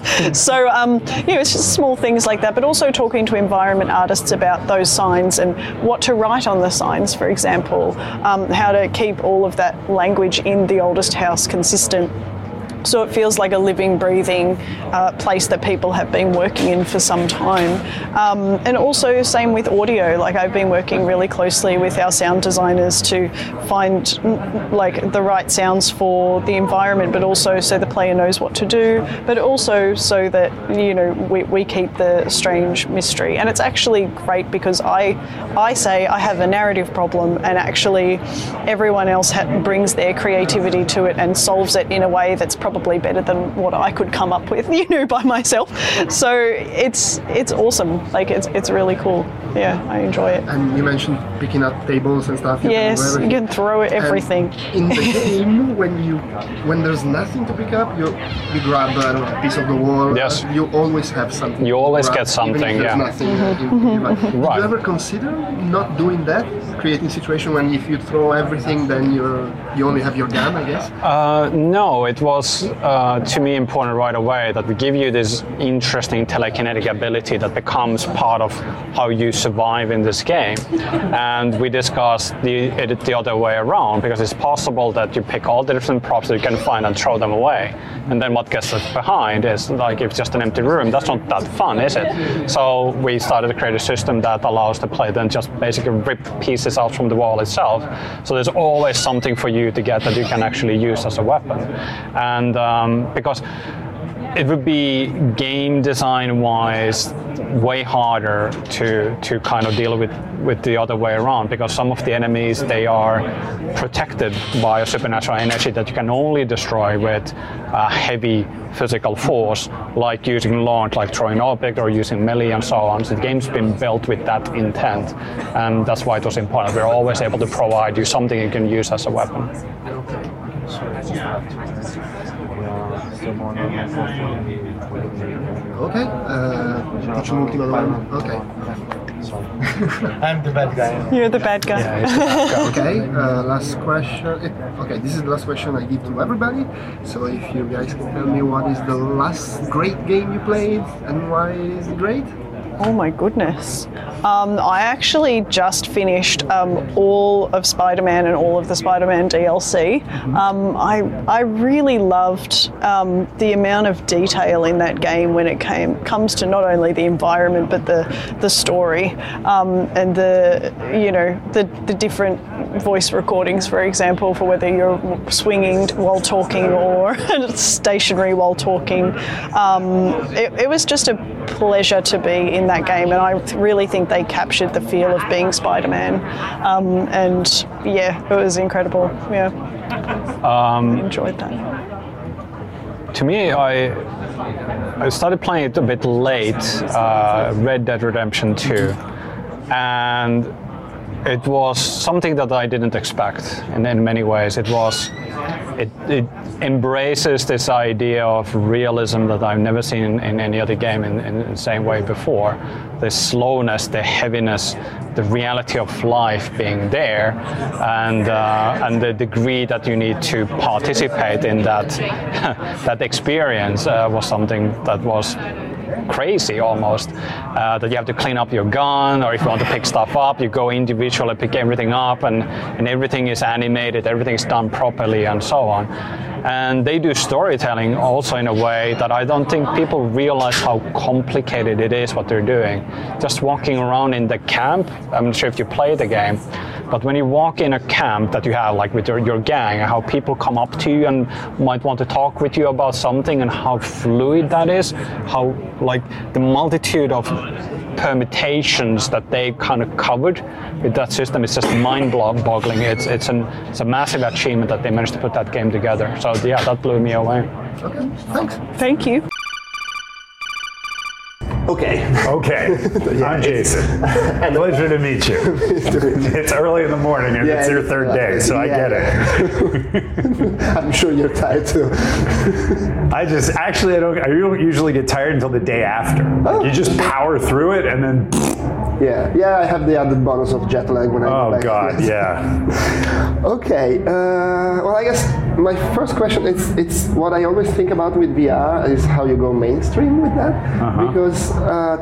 So, you know, it's just small things like that, but also talking to environment artists about those signs and what to write on the signs, for example, how to keep all of that language in the oldest house consistent. So it feels like a living, breathing place that people have been working in for some time. And also same with audio. Like I've been working really closely with our sound designers to find like the right sounds for the environment, but also so the player knows what to do, but also so that, you know, we keep the strange mystery. And it's actually great because I say I have a narrative problem, and actually everyone else brings their creativity to it and solves it in a way that's probably better than what I could come up with, you know, by myself. So it's awesome. Like it's really cool. Yeah, I enjoy it. And you mentioned picking up tables and stuff. Yes, you can throw everything. And in the game, when there's nothing to pick up, you grab a piece of the wall. Yes. You always have something. You always get something. Even if there's nothing. Did you ever consider not doing that? Creating a situation when if you throw everything, then you only have your gun, I guess? No, it was to me important right away that we give you this interesting telekinetic ability that becomes part of how you survive in this game. And we discussed it the other way around, because it's possible that you pick all the different props that you can find and throw them away. And then what gets left behind is like if it's just an empty room. That's not that fun, is it? So we started to create a system that allows the player then just basically rip pieces out from the wall itself. So there's always something for you to get that you can actually use as a weapon. And because it would be game design wise way harder to kind of deal with the other way around, because some of the enemies, they are protected by a supernatural energy that you can only destroy with heavy physical force, like using launch, like throwing object, or using melee and so on. So the game's been built with that intent, and that's why it was important. We're always able to provide you something you can use as a weapon. Ok, faccio un'ultima domanda. Ok. I'm the bad guy. You're the bad guy. Yeah, Okay, last question. Okay, this is the last question I give to everybody. So if you guys can tell me what is the last great game you played and why is it great? Oh my goodness. I actually just finished all of Spider-Man and all of the Spider-Man DLC. I really loved the amount of detail in that game when it comes to not only the environment but the story and the different voice recordings, for example, for whether you're swinging while talking or stationary while talking. It was just a pleasure to be in that game, and I really think they captured the feel of being Spider-Man, and yeah, it was incredible. Yeah, enjoyed that. To me, I started playing it a bit late, Red Dead Redemption 2, and it was something that I didn't expect in many ways. It embraces this idea of realism that I've never seen in any other game in the same way before. The slowness, the heaviness, the reality of life being there, and the degree that you need to participate in that that experience was something that was crazy almost, that you have to clean up your gun, or if you want to pick stuff up, you go individually, pick everything up, and everything is animated, everything is done properly, and so on. And they do storytelling also in a way that I don't think people realize how complicated it is what they're doing. Just walking around in the camp, I'm not sure if you play the game, but when you walk in a camp that you have, like with your gang, how people come up to you and might want to talk with you about something, and how fluid that is, how like the multitude of permutations that they kind of covered with that system is just mind-boggling. It's a massive achievement that they managed to put that game together. So yeah, that blew me away. Okay, thanks. Thank you. Okay. I'm Jason. Pleasure to meet you. It's early in the morning and it's your third day, so I get it. I'm sure you're tired too. I don't usually get tired until the day after. You just power through it and then. Yeah, I have the added bonus of jet lag when I go back. Oh God, yeah. Okay, well, I guess my first question, it's what I always think about with VR is how you go mainstream with that, because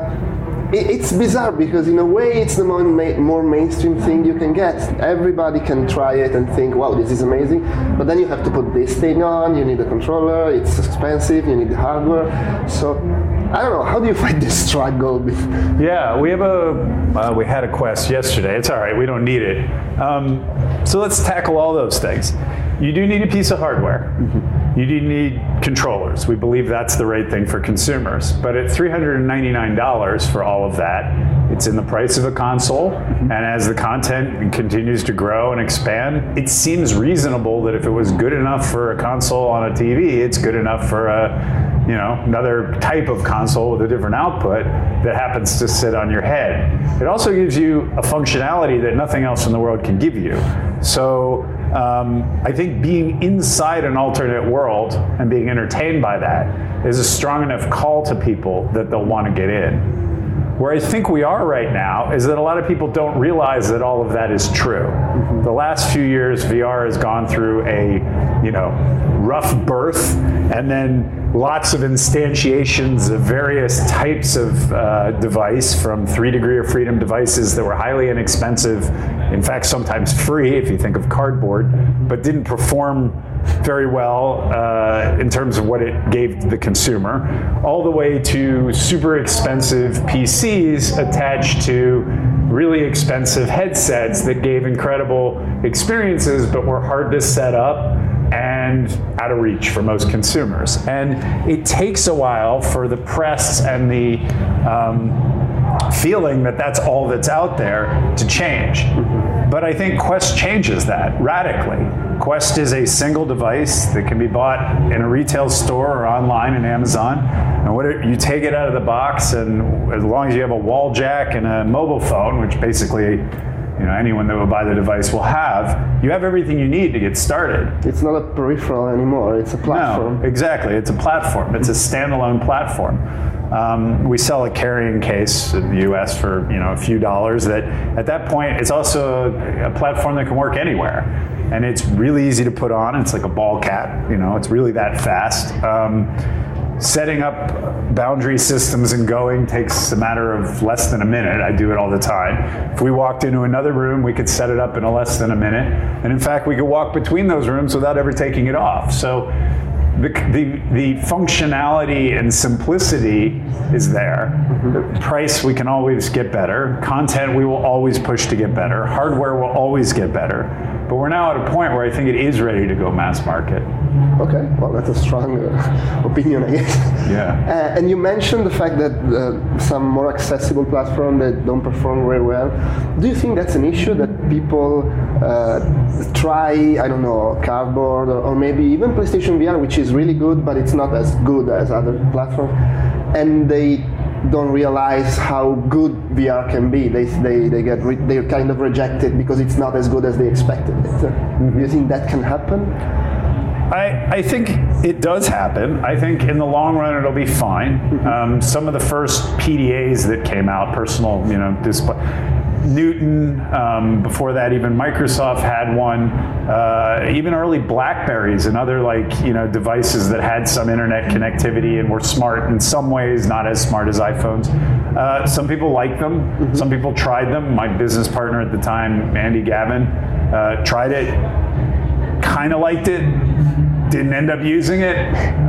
it's bizarre, because in a way it's the more mainstream thing you can get. Everybody can try it and think, wow, this is amazing, but then you have to put this thing on, you need a controller, it's expensive, you need the hardware, so I don't know, how do you find this struggle? Yeah, we had a Quest yesterday. It's all right, we don't need it. So let's tackle all those things. You do need a piece of hardware. You do need controllers. We believe that's the right thing for consumers. But at $399 for all of that, it's in the price of a console. And as the content continues to grow and expand, it seems reasonable that if it was good enough for a console on a TV, it's good enough for another type of console with a different output that happens to sit on your head. It also gives you a functionality that nothing else in the world can give you. So I think being inside an alternate world and being entertained by that is a strong enough call to people that they'll want to get in. Where I think we are right now is that a lot of people don't realize that all of that is true. The last few years, VR has gone through a rough birth, and then lots of instantiations of various types of device, from 3 degree of freedom devices that were highly inexpensive, in fact sometimes free if you think of cardboard, but didn't perform very well in terms of what it gave the consumer, all the way to super expensive PCs attached to really expensive headsets that gave incredible experiences but were hard to set up and out of reach for most consumers. And it takes a while for the press and the feeling that that's all that's out there to change. But I think Quest changes that radically. Quest is a single device that can be bought in a retail store or online in Amazon. And you take it out of the box, and as long as you have a wall jack and a mobile phone, which basically anyone that will buy the device will have, you have everything you need to get started. It's not a peripheral anymore, it's a platform. No, exactly, it's a platform. It's a standalone platform. We sell a carrying case in the US for a few dollars that at that point it's also a platform that can work anywhere. And it's really easy to put on. It's like a ball cap, it's really that fast. Setting up boundary systems and going takes a matter of less than a minute. I do it all the time. If we walked into another room, we could set it up in less than a minute. And in fact, we could walk between those rooms without ever taking it off. So the functionality and simplicity is there. The price, we can always get better. Content, we will always push to get better. Hardware will always get better. But we're now at a point where I think it is ready to go mass market. Okay, well, that's a strong opinion, I guess. Yeah. And you mentioned the fact that some more accessible platforms that don't perform very well. Do you think that's an issue, that people try, I don't know, cardboard or maybe even PlayStation VR, which is really good, but it's not as good as other platforms, and they don't realize how good VR can be. They kind of reject it because it's not as good as they expected it. Do you think that can happen? I think it does happen. I think in the long run it'll be fine. Some of the first PDAs that came out, personal, display, Newton, before that even Microsoft had one, even early Blackberries and other devices that had some internet connectivity and were smart in some ways, not as smart as iPhones. Some people liked them, some people tried them. My business partner at the time, Andy Gavin, tried it, kind of liked it, didn't end up using it.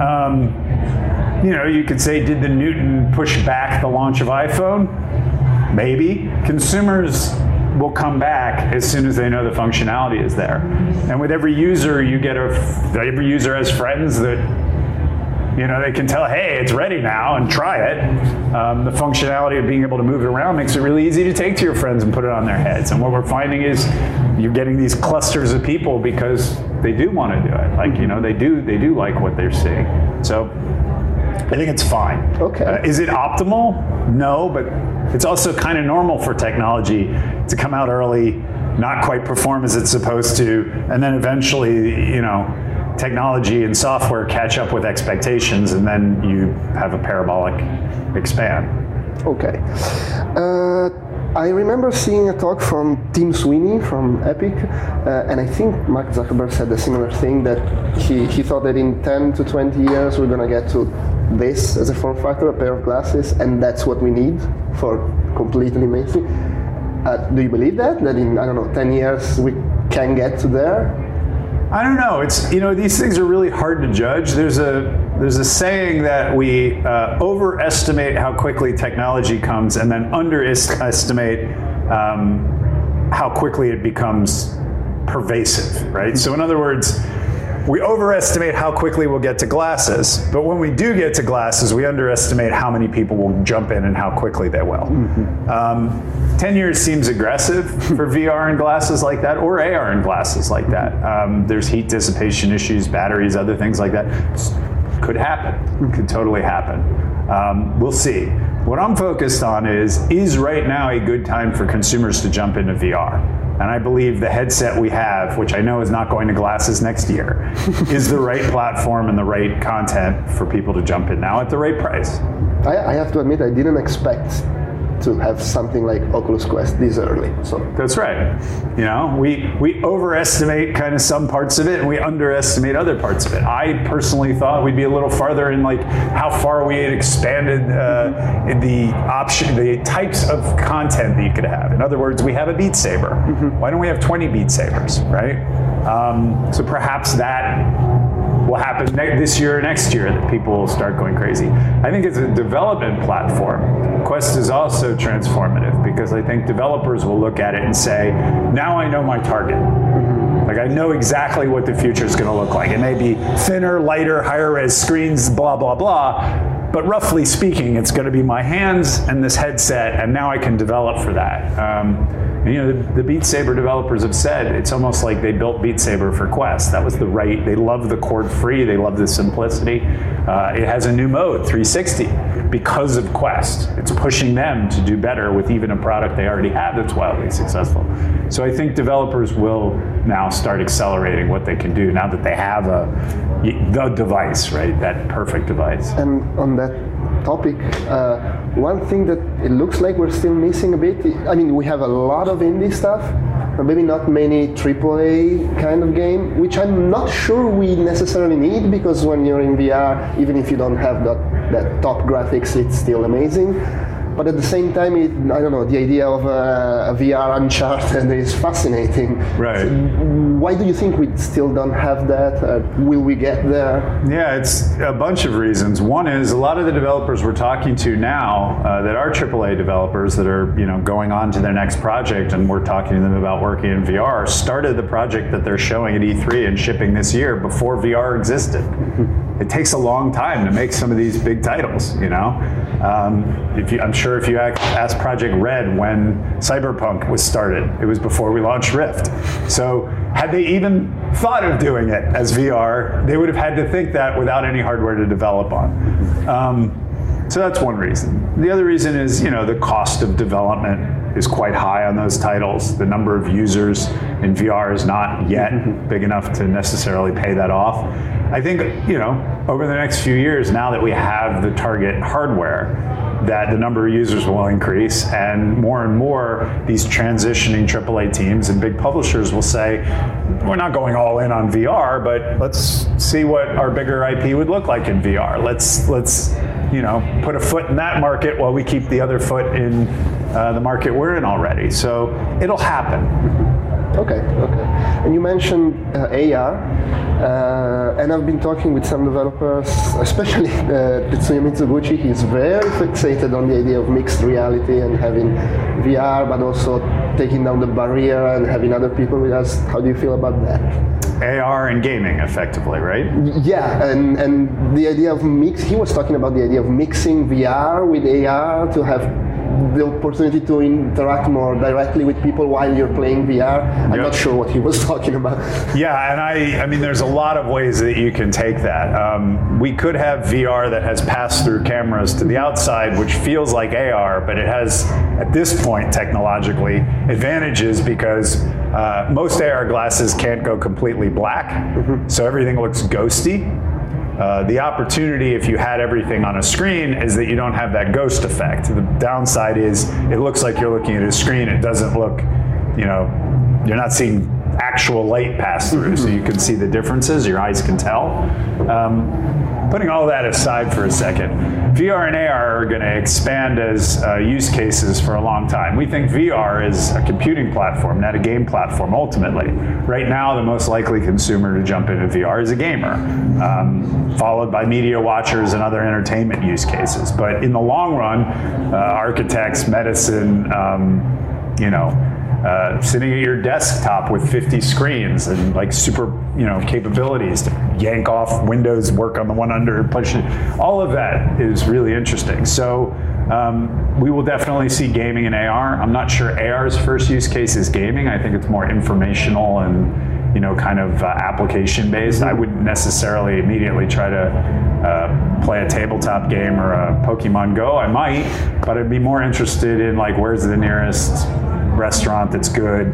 You could say, did the Newton push back the launch of iPhone? Maybe. Consumers will come back as soon as they know the functionality is there. And with every user, every user has friends that they can tell, hey, it's ready now, and try it. The functionality of being able to move it around makes it really easy to take to your friends and put it on their heads. And what we're finding is you're getting these clusters of people because they do want to do it. They do like what they're seeing. So I think it's fine. Okay. Is it optimal? No, but it's also kind of normal for technology to come out early, not quite perform as it's supposed to, and then eventually, technology and software catch up with expectations, and then you have a parabolic expand. Okay. I remember seeing a talk from Tim Sweeney from Epic, and I think Mark Zuckerberg said a similar thing, that he thought that in 10 to 20 years we're going to get to this as a form factor, a pair of glasses, and that's what we need for completely mainstream. Do you believe that in, 10 years we can get to there? I don't know. It's these things are really hard to judge. There's a saying that we overestimate how quickly technology comes, and then underestimate how quickly it becomes pervasive, right? So in other words, we overestimate how quickly we'll get to glasses, but when we do get to glasses, we underestimate how many people will jump in and how quickly they will. 10 years seems aggressive for VR and glasses like that, or AR and glasses like that. There's heat dissipation issues, batteries, other things like that. Could happen, could totally happen. We'll see. What I'm focused on is right now a good time for consumers to jump into VR? And I believe the headset we have, which I know is not going to glasses next year, is the right platform and the right content for people to jump in now at the right price. I have to admit, I didn't expect to have something like Oculus Quest this early. So that's right. We overestimate kind of some parts of it, and we underestimate other parts of it. I personally thought we'd be a little farther in how far we had expanded the types of content that you could have. In other words, we have a Beat Saber. Why don't we have 20 Beat Sabers, right? So perhaps that will happen this year or next year, that people will start going crazy. I think as a development platform, Quest is also transformative, because I think developers will look at it and say, now I know my target. I know exactly what the future is going to look like. It may be thinner, lighter, higher res screens, blah, blah, blah. But roughly speaking, it's going to be my hands and this headset, and now I can develop for that. The Beat Saber developers have said it's almost like they built Beat Saber for Quest. That was they love the cord free, they love the simplicity. It has a new mode, 360, because of Quest. It's pushing them to do better with even a product they already have that's wildly successful. So I think developers will now start accelerating what they can do now that they have the device, right? That perfect device. And on that topic, one thing that it looks like we're still missing a bit, we have a lot of indie stuff, but maybe not many AAA kind of game, which I'm not sure we necessarily need, because when you're in VR, even if you don't have that top graphics, it's still amazing. But at the same time, the idea of a VR Uncharted is fascinating. Right. So why do you think we still don't have that? Will we get there? Yeah, it's a bunch of reasons. One is a lot of the developers we're talking to now that are AAA developers that are going on to their next project, and we're talking to them about working in VR, started the project that they're showing at E3 and shipping this year before VR existed. It takes a long time to make some of these big titles, I'm sure if you ask Project Red when Cyberpunk was started, it was before we launched Rift. So had they even thought of doing it as VR, they would have had to think that without any hardware to develop on. So that's one reason. The other reason is, the cost of development is quite high on those titles. The number of users in VR is not yet big enough to necessarily pay that off. I think, over the next few years, now that we have the target hardware, that the number of users will increase, and more these transitioning AAA teams and big publishers will say, we're not going all in on VR, but let's see what our bigger IP would look like in VR. Let's put a foot in that market while we keep the other foot in the market we're in already. So it'll happen. Okay. And you mentioned AR, and I've been talking with some developers, especially Tetsuya Mitsuguchi. He's very fixated on the idea of mixed reality and having VR, but also taking down the barrier and having other people with us. How do you feel about that? AR and gaming, effectively, right? Yeah, and the idea of he was talking about the idea of mixing VR with AR to have the opportunity to interact more directly with people while you're playing VR. I'm not sure what he was talking about. Yeah, and I mean, there's a lot of ways that you can take that. We could have VR that has pass-through cameras to the outside, which feels like AR, but it has, at this point, technologically, advantages because most AR glasses can't go completely black, so everything looks ghosty. The opportunity, if you had everything on a screen, is that you don't have that ghost effect. The downside is it looks like you're looking at a screen. It doesn't look, you're not seeing actual light pass through, so you can see the differences. Your eyes can tell. Putting all that aside for a second, VR and AR are going to expand as use cases for a long time. We think VR is a computing platform, not a game platform, ultimately. Right now, the most likely consumer to jump into VR is a gamer, followed by media watchers and other entertainment use cases. But in the long run, architects, medicine, sitting at your desktop with 50 screens and like super, capabilities to yank off windows, work on the one under, push it. All of that is really interesting. So we will definitely see gaming in AR. I'm not sure AR's first use case is gaming. I think it's more informational and kind of application based. I wouldn't necessarily immediately try to play a tabletop game or a Pokemon Go. I might, but I'd be more interested in like where's the nearest restaurant that's good.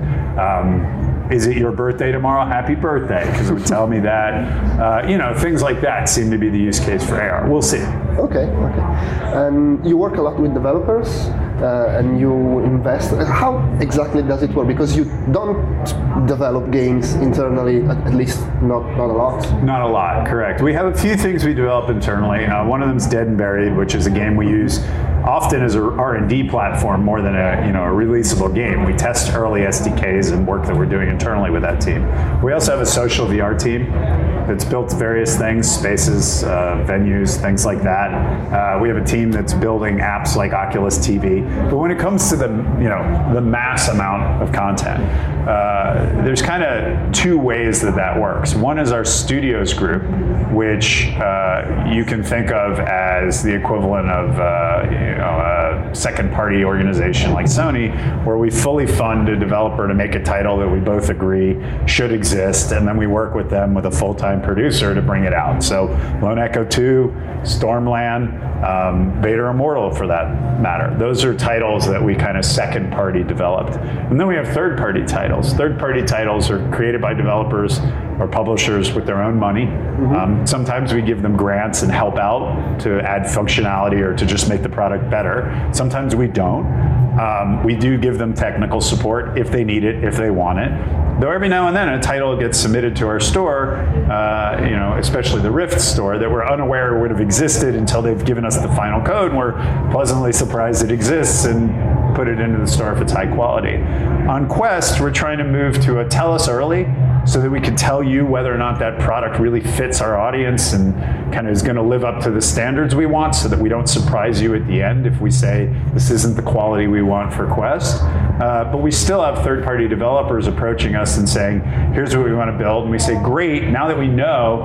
Is it your birthday tomorrow? Happy birthday, because it would tell me that. Things like that seem to be the use case for AR. We'll see. Okay. You work a lot with developers and you invest. How exactly does it work? Because you don't develop games internally, at least not a lot. Not a lot, correct. We have a few things we develop internally. One of them is Dead and Buried, which is a game we use often as a R&D platform more than a releasable game. We test early SDKs and work that we're doing internally with that team. We also have a social VR team that's built various things, spaces, venues, things like that. We have a team that's building apps like Oculus TV. But when it comes to the mass amount of content, there's kind of two ways that works. One is our studios group, which you can think of as the equivalent of a second-party organization like Sony, where we fully fund a developer to make a title that we both agree should exist, and then we work with them with a full-time producer to bring it out. So Lone Echo 2, Stormland, Vader Immortal for that matter. Those are titles that we kind of second-party developed. And then we have third-party titles. Third-party titles are created by developers or publishers with their own money. Sometimes we give them grants and help out to add functionality or to just make the product better. Sometimes we don't. We do give them technical support if they need it, if they want it. Though every now and then a title gets submitted to our store, especially the Rift store, that we're unaware would have existed until they've given us the final code, and we're pleasantly surprised it exists and put it into the store if it's high quality. On Quest, we're trying to move to a tell us early so that we can tell you whether or not that product really fits our audience and kind of is going to live up to the standards we want, so that we don't surprise you at the end if we say this isn't the quality we want for Quest. But we still have third-party developers approaching us and saying, here's what we want to build. And we say, great, now that we know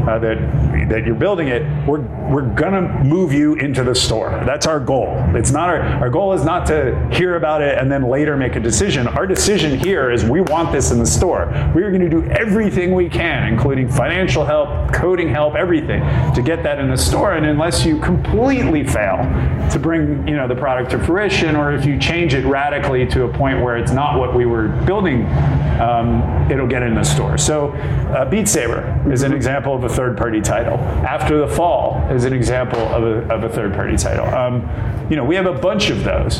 that you're building it, we're going to move you into the store. That's our goal. It's not our goal is not to hear about it and then later make a decision. Our decision here is we want this in the store. We're going to do everything we can, including financial help, coding help, everything, to get that in the store. And unless you completely fail to bring the product to fruition, or if you change it radically to a point where it's not what we were building, it'll get in the store. So Beat Saber is an example of a third-party title. After the Fall is an example of a third-party title. We have a bunch of those.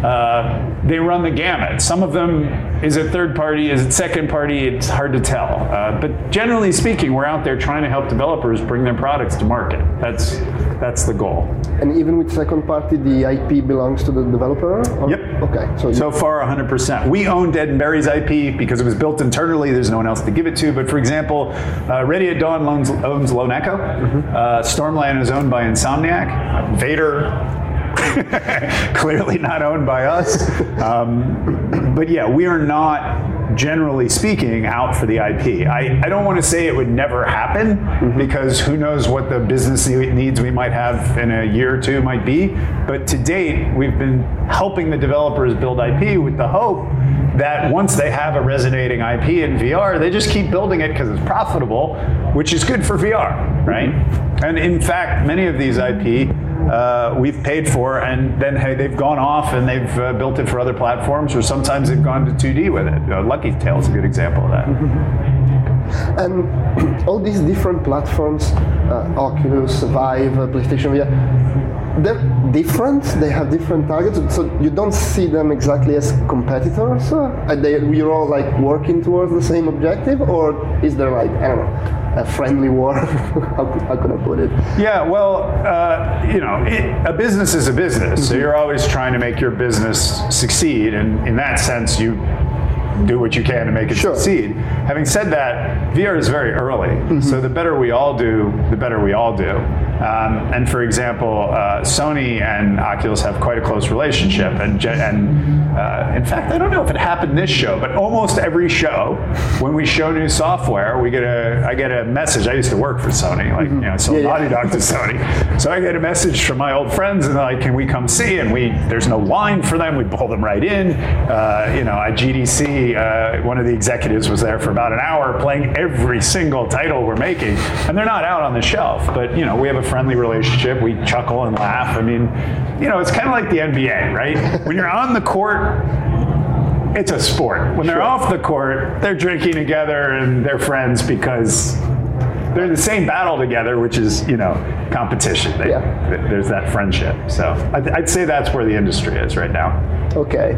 They run the gamut. Some of them, is it third party, is it second party? It's hard to tell. But generally speaking, we're out there trying to help developers bring their products to market. That's the goal. And even with second party, the IP belongs to the developer? Yep. Okay. So far, 100%. We own Dead and Buried's IP because it was built internally. There's no one else to give it to. But for example, Ready at Dawn owns Lone Echo. Stormland is owned by Insomniac. Vader, clearly not owned by us. But yeah, we are not generally speaking, out for the IP. I don't want to say it would never happen, because who knows what the business needs we might have in a year or two might be. But to date, we've been helping the developers build IP with the hope that once they have a resonating IP in VR, they just keep building it because it's profitable, which is good for VR, right? And in fact, many of these IP we've paid for, and then they've gone off and they've built it for other platforms, or sometimes they've gone to 2D with it. Lucky Tale is a good example of that. And all these different platforms, Oculus, Vive, PlayStation VR, they're different, they have different targets, so you don't see them exactly as competitors? You're all like working towards the same objective, or is there like, I don't know, a friendly war? how could I put it? Yeah, well, a business is a business, so you're always trying to make your business succeed, and in that sense, you do what you can to make it succeed. Having said that, VR is very early, so the better we all do, the better we all do. And for example, Sony and Oculus have quite a close relationship, and in fact, I don't know if it happened this show, but almost every show, when we show new software, I get a message. I used to work for Sony, Naughty Dog to Sony, so I get a message from my old friends, and they're like, "Can we come see?" And there's no line for them. We pull them right in. At GDC, one of the executives was there for about an hour playing every single title we're making, and they're not out on the shelf, but we have a friendly relationship. We chuckle and laugh. I mean, it's kind of like the NBA, right? When you're on the court, it's a sport. When they're off the court, they're drinking together and they're friends because they're in the same battle together, which is, competition. There's that friendship. So I'd say that's where the industry is right now. Okay.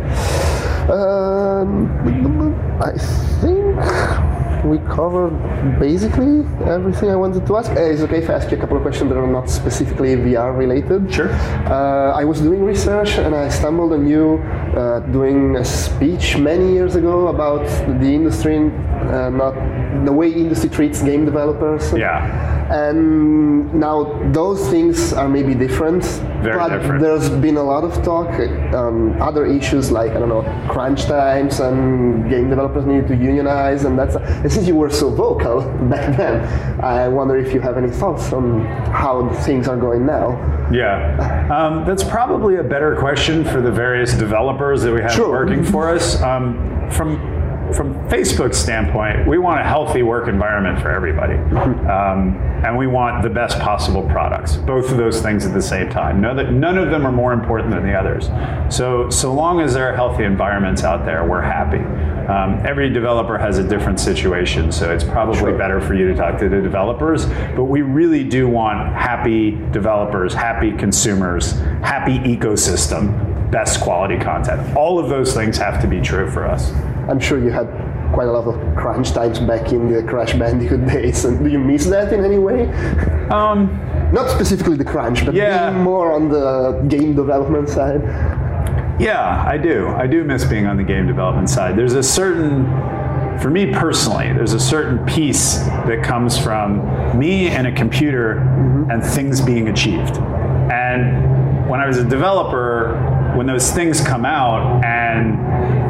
I think we covered basically everything I wanted to ask. Is it okay if I ask you a couple of questions that are not specifically VR related? Sure. I was doing research and I stumbled on you doing a speech many years ago about the industry, not the way industry treats game developers. Yeah. And now those things are maybe different. Very different. There's been a lot of talk, other issues like, I don't know, crunch times and game developers need to unionize, and since you were so vocal back then, I wonder if you have any thoughts on how things are going now. Yeah, that's probably a better question for the various developers that we have working for us. From Facebook's standpoint, we want a healthy work environment for everybody. And we want the best possible products, both of those things at the same time. None of them are more important than the others. So long as there are healthy environments out there, we're happy. Every developer has a different situation, so it's probably better for you to talk to the developers, but we really do want happy developers, happy consumers, happy ecosystem, best quality content. All of those things have to be true for us. I'm sure you had quite a lot of crunch times back in the Crash Bandicoot days, and do you miss that in any way? Not specifically the crunch, but being more on the game development side. Yeah, I do. I do miss being on the game development side. There's a certain, for me personally, there's a certain peace that comes from me and a computer and things being achieved. And when I was a developer, when those things come out and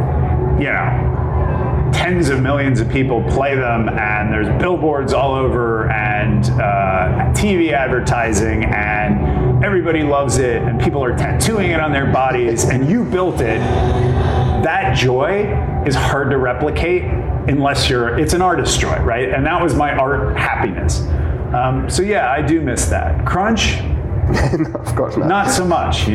tens of millions of people play them, and there's billboards all over, and TV advertising, and everybody loves it, and people are tattooing it on their bodies, and you built it, that joy is hard to replicate unless it's an artist's joy, right? And that was my art happiness. So yeah, I do miss that. Crunch? No, of course not. Not so much,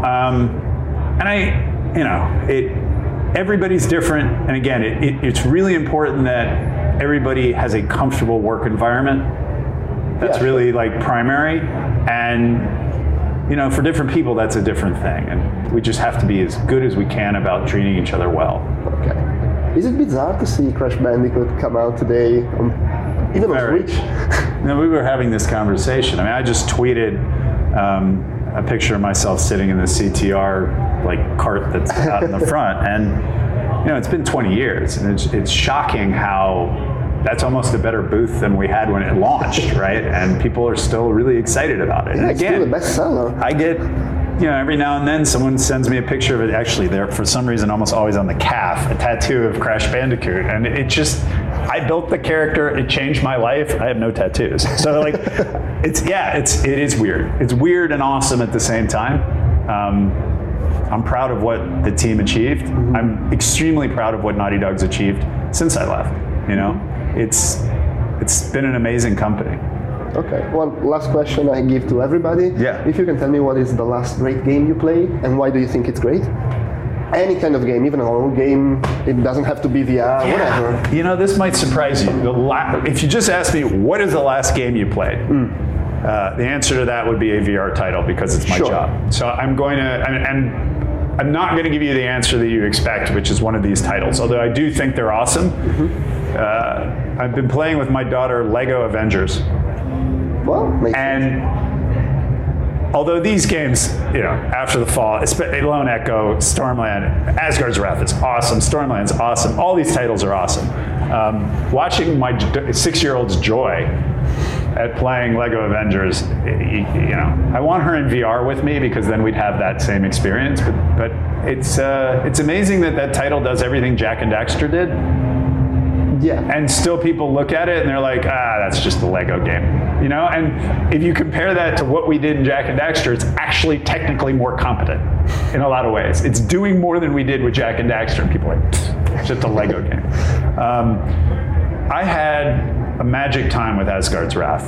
everybody's different, and again, it's really important that everybody has a comfortable work environment. That's really like primary, and for different people that's a different thing, and we just have to be as good as we can about treating each other well. Okay. Is it bizarre to see Crash Bandicoot come out today, even on Switch? We were having this conversation. I mean, I just tweeted a picture of myself sitting in the CTR cart that's out in the front, and it's been 20 years, and it's shocking how that's almost a better booth than we had when it launched, right? And people are still really excited about it. Yeah, and again, it's still a bestseller. I get every now and then someone sends me a picture of it. Actually, they're for some reason almost always on the calf, a tattoo of Crash Bandicoot, and it just, I built the character. It changed my life. I have no tattoos, so like, it is weird. It's weird and awesome at the same time. I'm proud of what the team achieved. I'm extremely proud of what Naughty Dog's achieved since I left. It's been an amazing company. Okay, one last question I give to everybody. Yeah. If you can tell me what is the last great game you played and why do you think it's great? Any kind of game, even a horror game, it doesn't have to be VR, whatever. This might surprise you. If you just ask me, what is the last game you played? The answer to that would be a VR title because it's my job. So I'm going to, and I'm not going to give you the answer that you expect, which is one of these titles, although I do think they're awesome. I've been playing with my daughter Lego Avengers. Well, and although these games, after the fall, Lone Echo, Stormland, Asgard's Wrath is awesome, Stormland's awesome, all these titles are awesome. Watching my 6-year-old's joy at playing Lego Avengers, I want her in VR with me because then we'd have that same experience. But it's amazing that title does everything Jak and Daxter did. Yeah. And still people look at it and they're like, that's just a Lego game. And if you compare that to what we did in Jak and Daxter, it's actually technically more competent in a lot of ways. It's doing more than we did with Jak and Daxter, and people are like, it's just a Lego game. I had a magic time with Asgard's Wrath.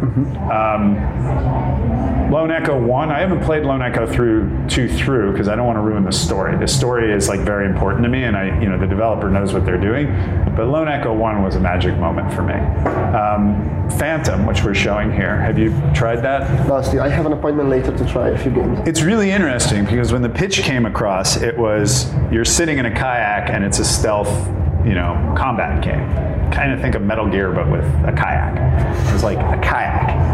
Lone Echo 1, I haven't played Lone Echo 2 through because I don't want to ruin the story. The story is like very important to me, and the developer knows what they're doing. But Lone Echo 1 was a magic moment for me. Phantom, which we're showing here, have you tried that? I have an appointment later to try a few games. It's really interesting because when the pitch came across, it was you're sitting in a kayak and it's a stealth, combat game. Kind of think of Metal Gear, but with a kayak. It was like a kayak.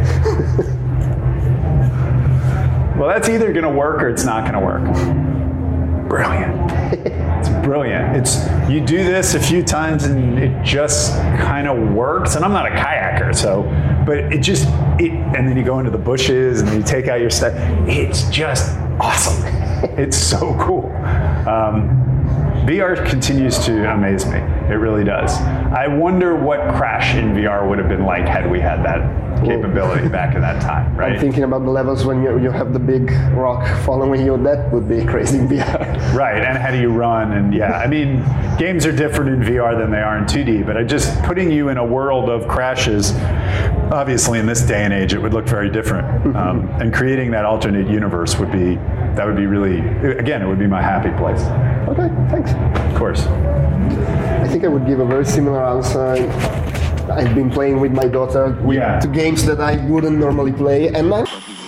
Well, that's either going to work or it's not going to work. Brilliant. It's brilliant. You do this a few times and it just kind of works. And I'm not a kayaker, but and then you go into the bushes and then you take out your stuff. It's just awesome. It's so cool. VR continues to amaze me. It really does. I wonder what Crash in VR would have been like had we had that capability back in that time, right? I'm thinking about the levels when you have the big rock following you. That would be crazy in VR. Right, and how do you run? And games are different in VR than they are in 2D, but just putting you in a world of crashes, obviously in this day and age, it would look very different. And creating that alternate universe would be really, again, it would be my happy place. Okay, thanks. Of course. I think I would give a very similar answer. I've been playing with my daughter to games that I wouldn't normally play, and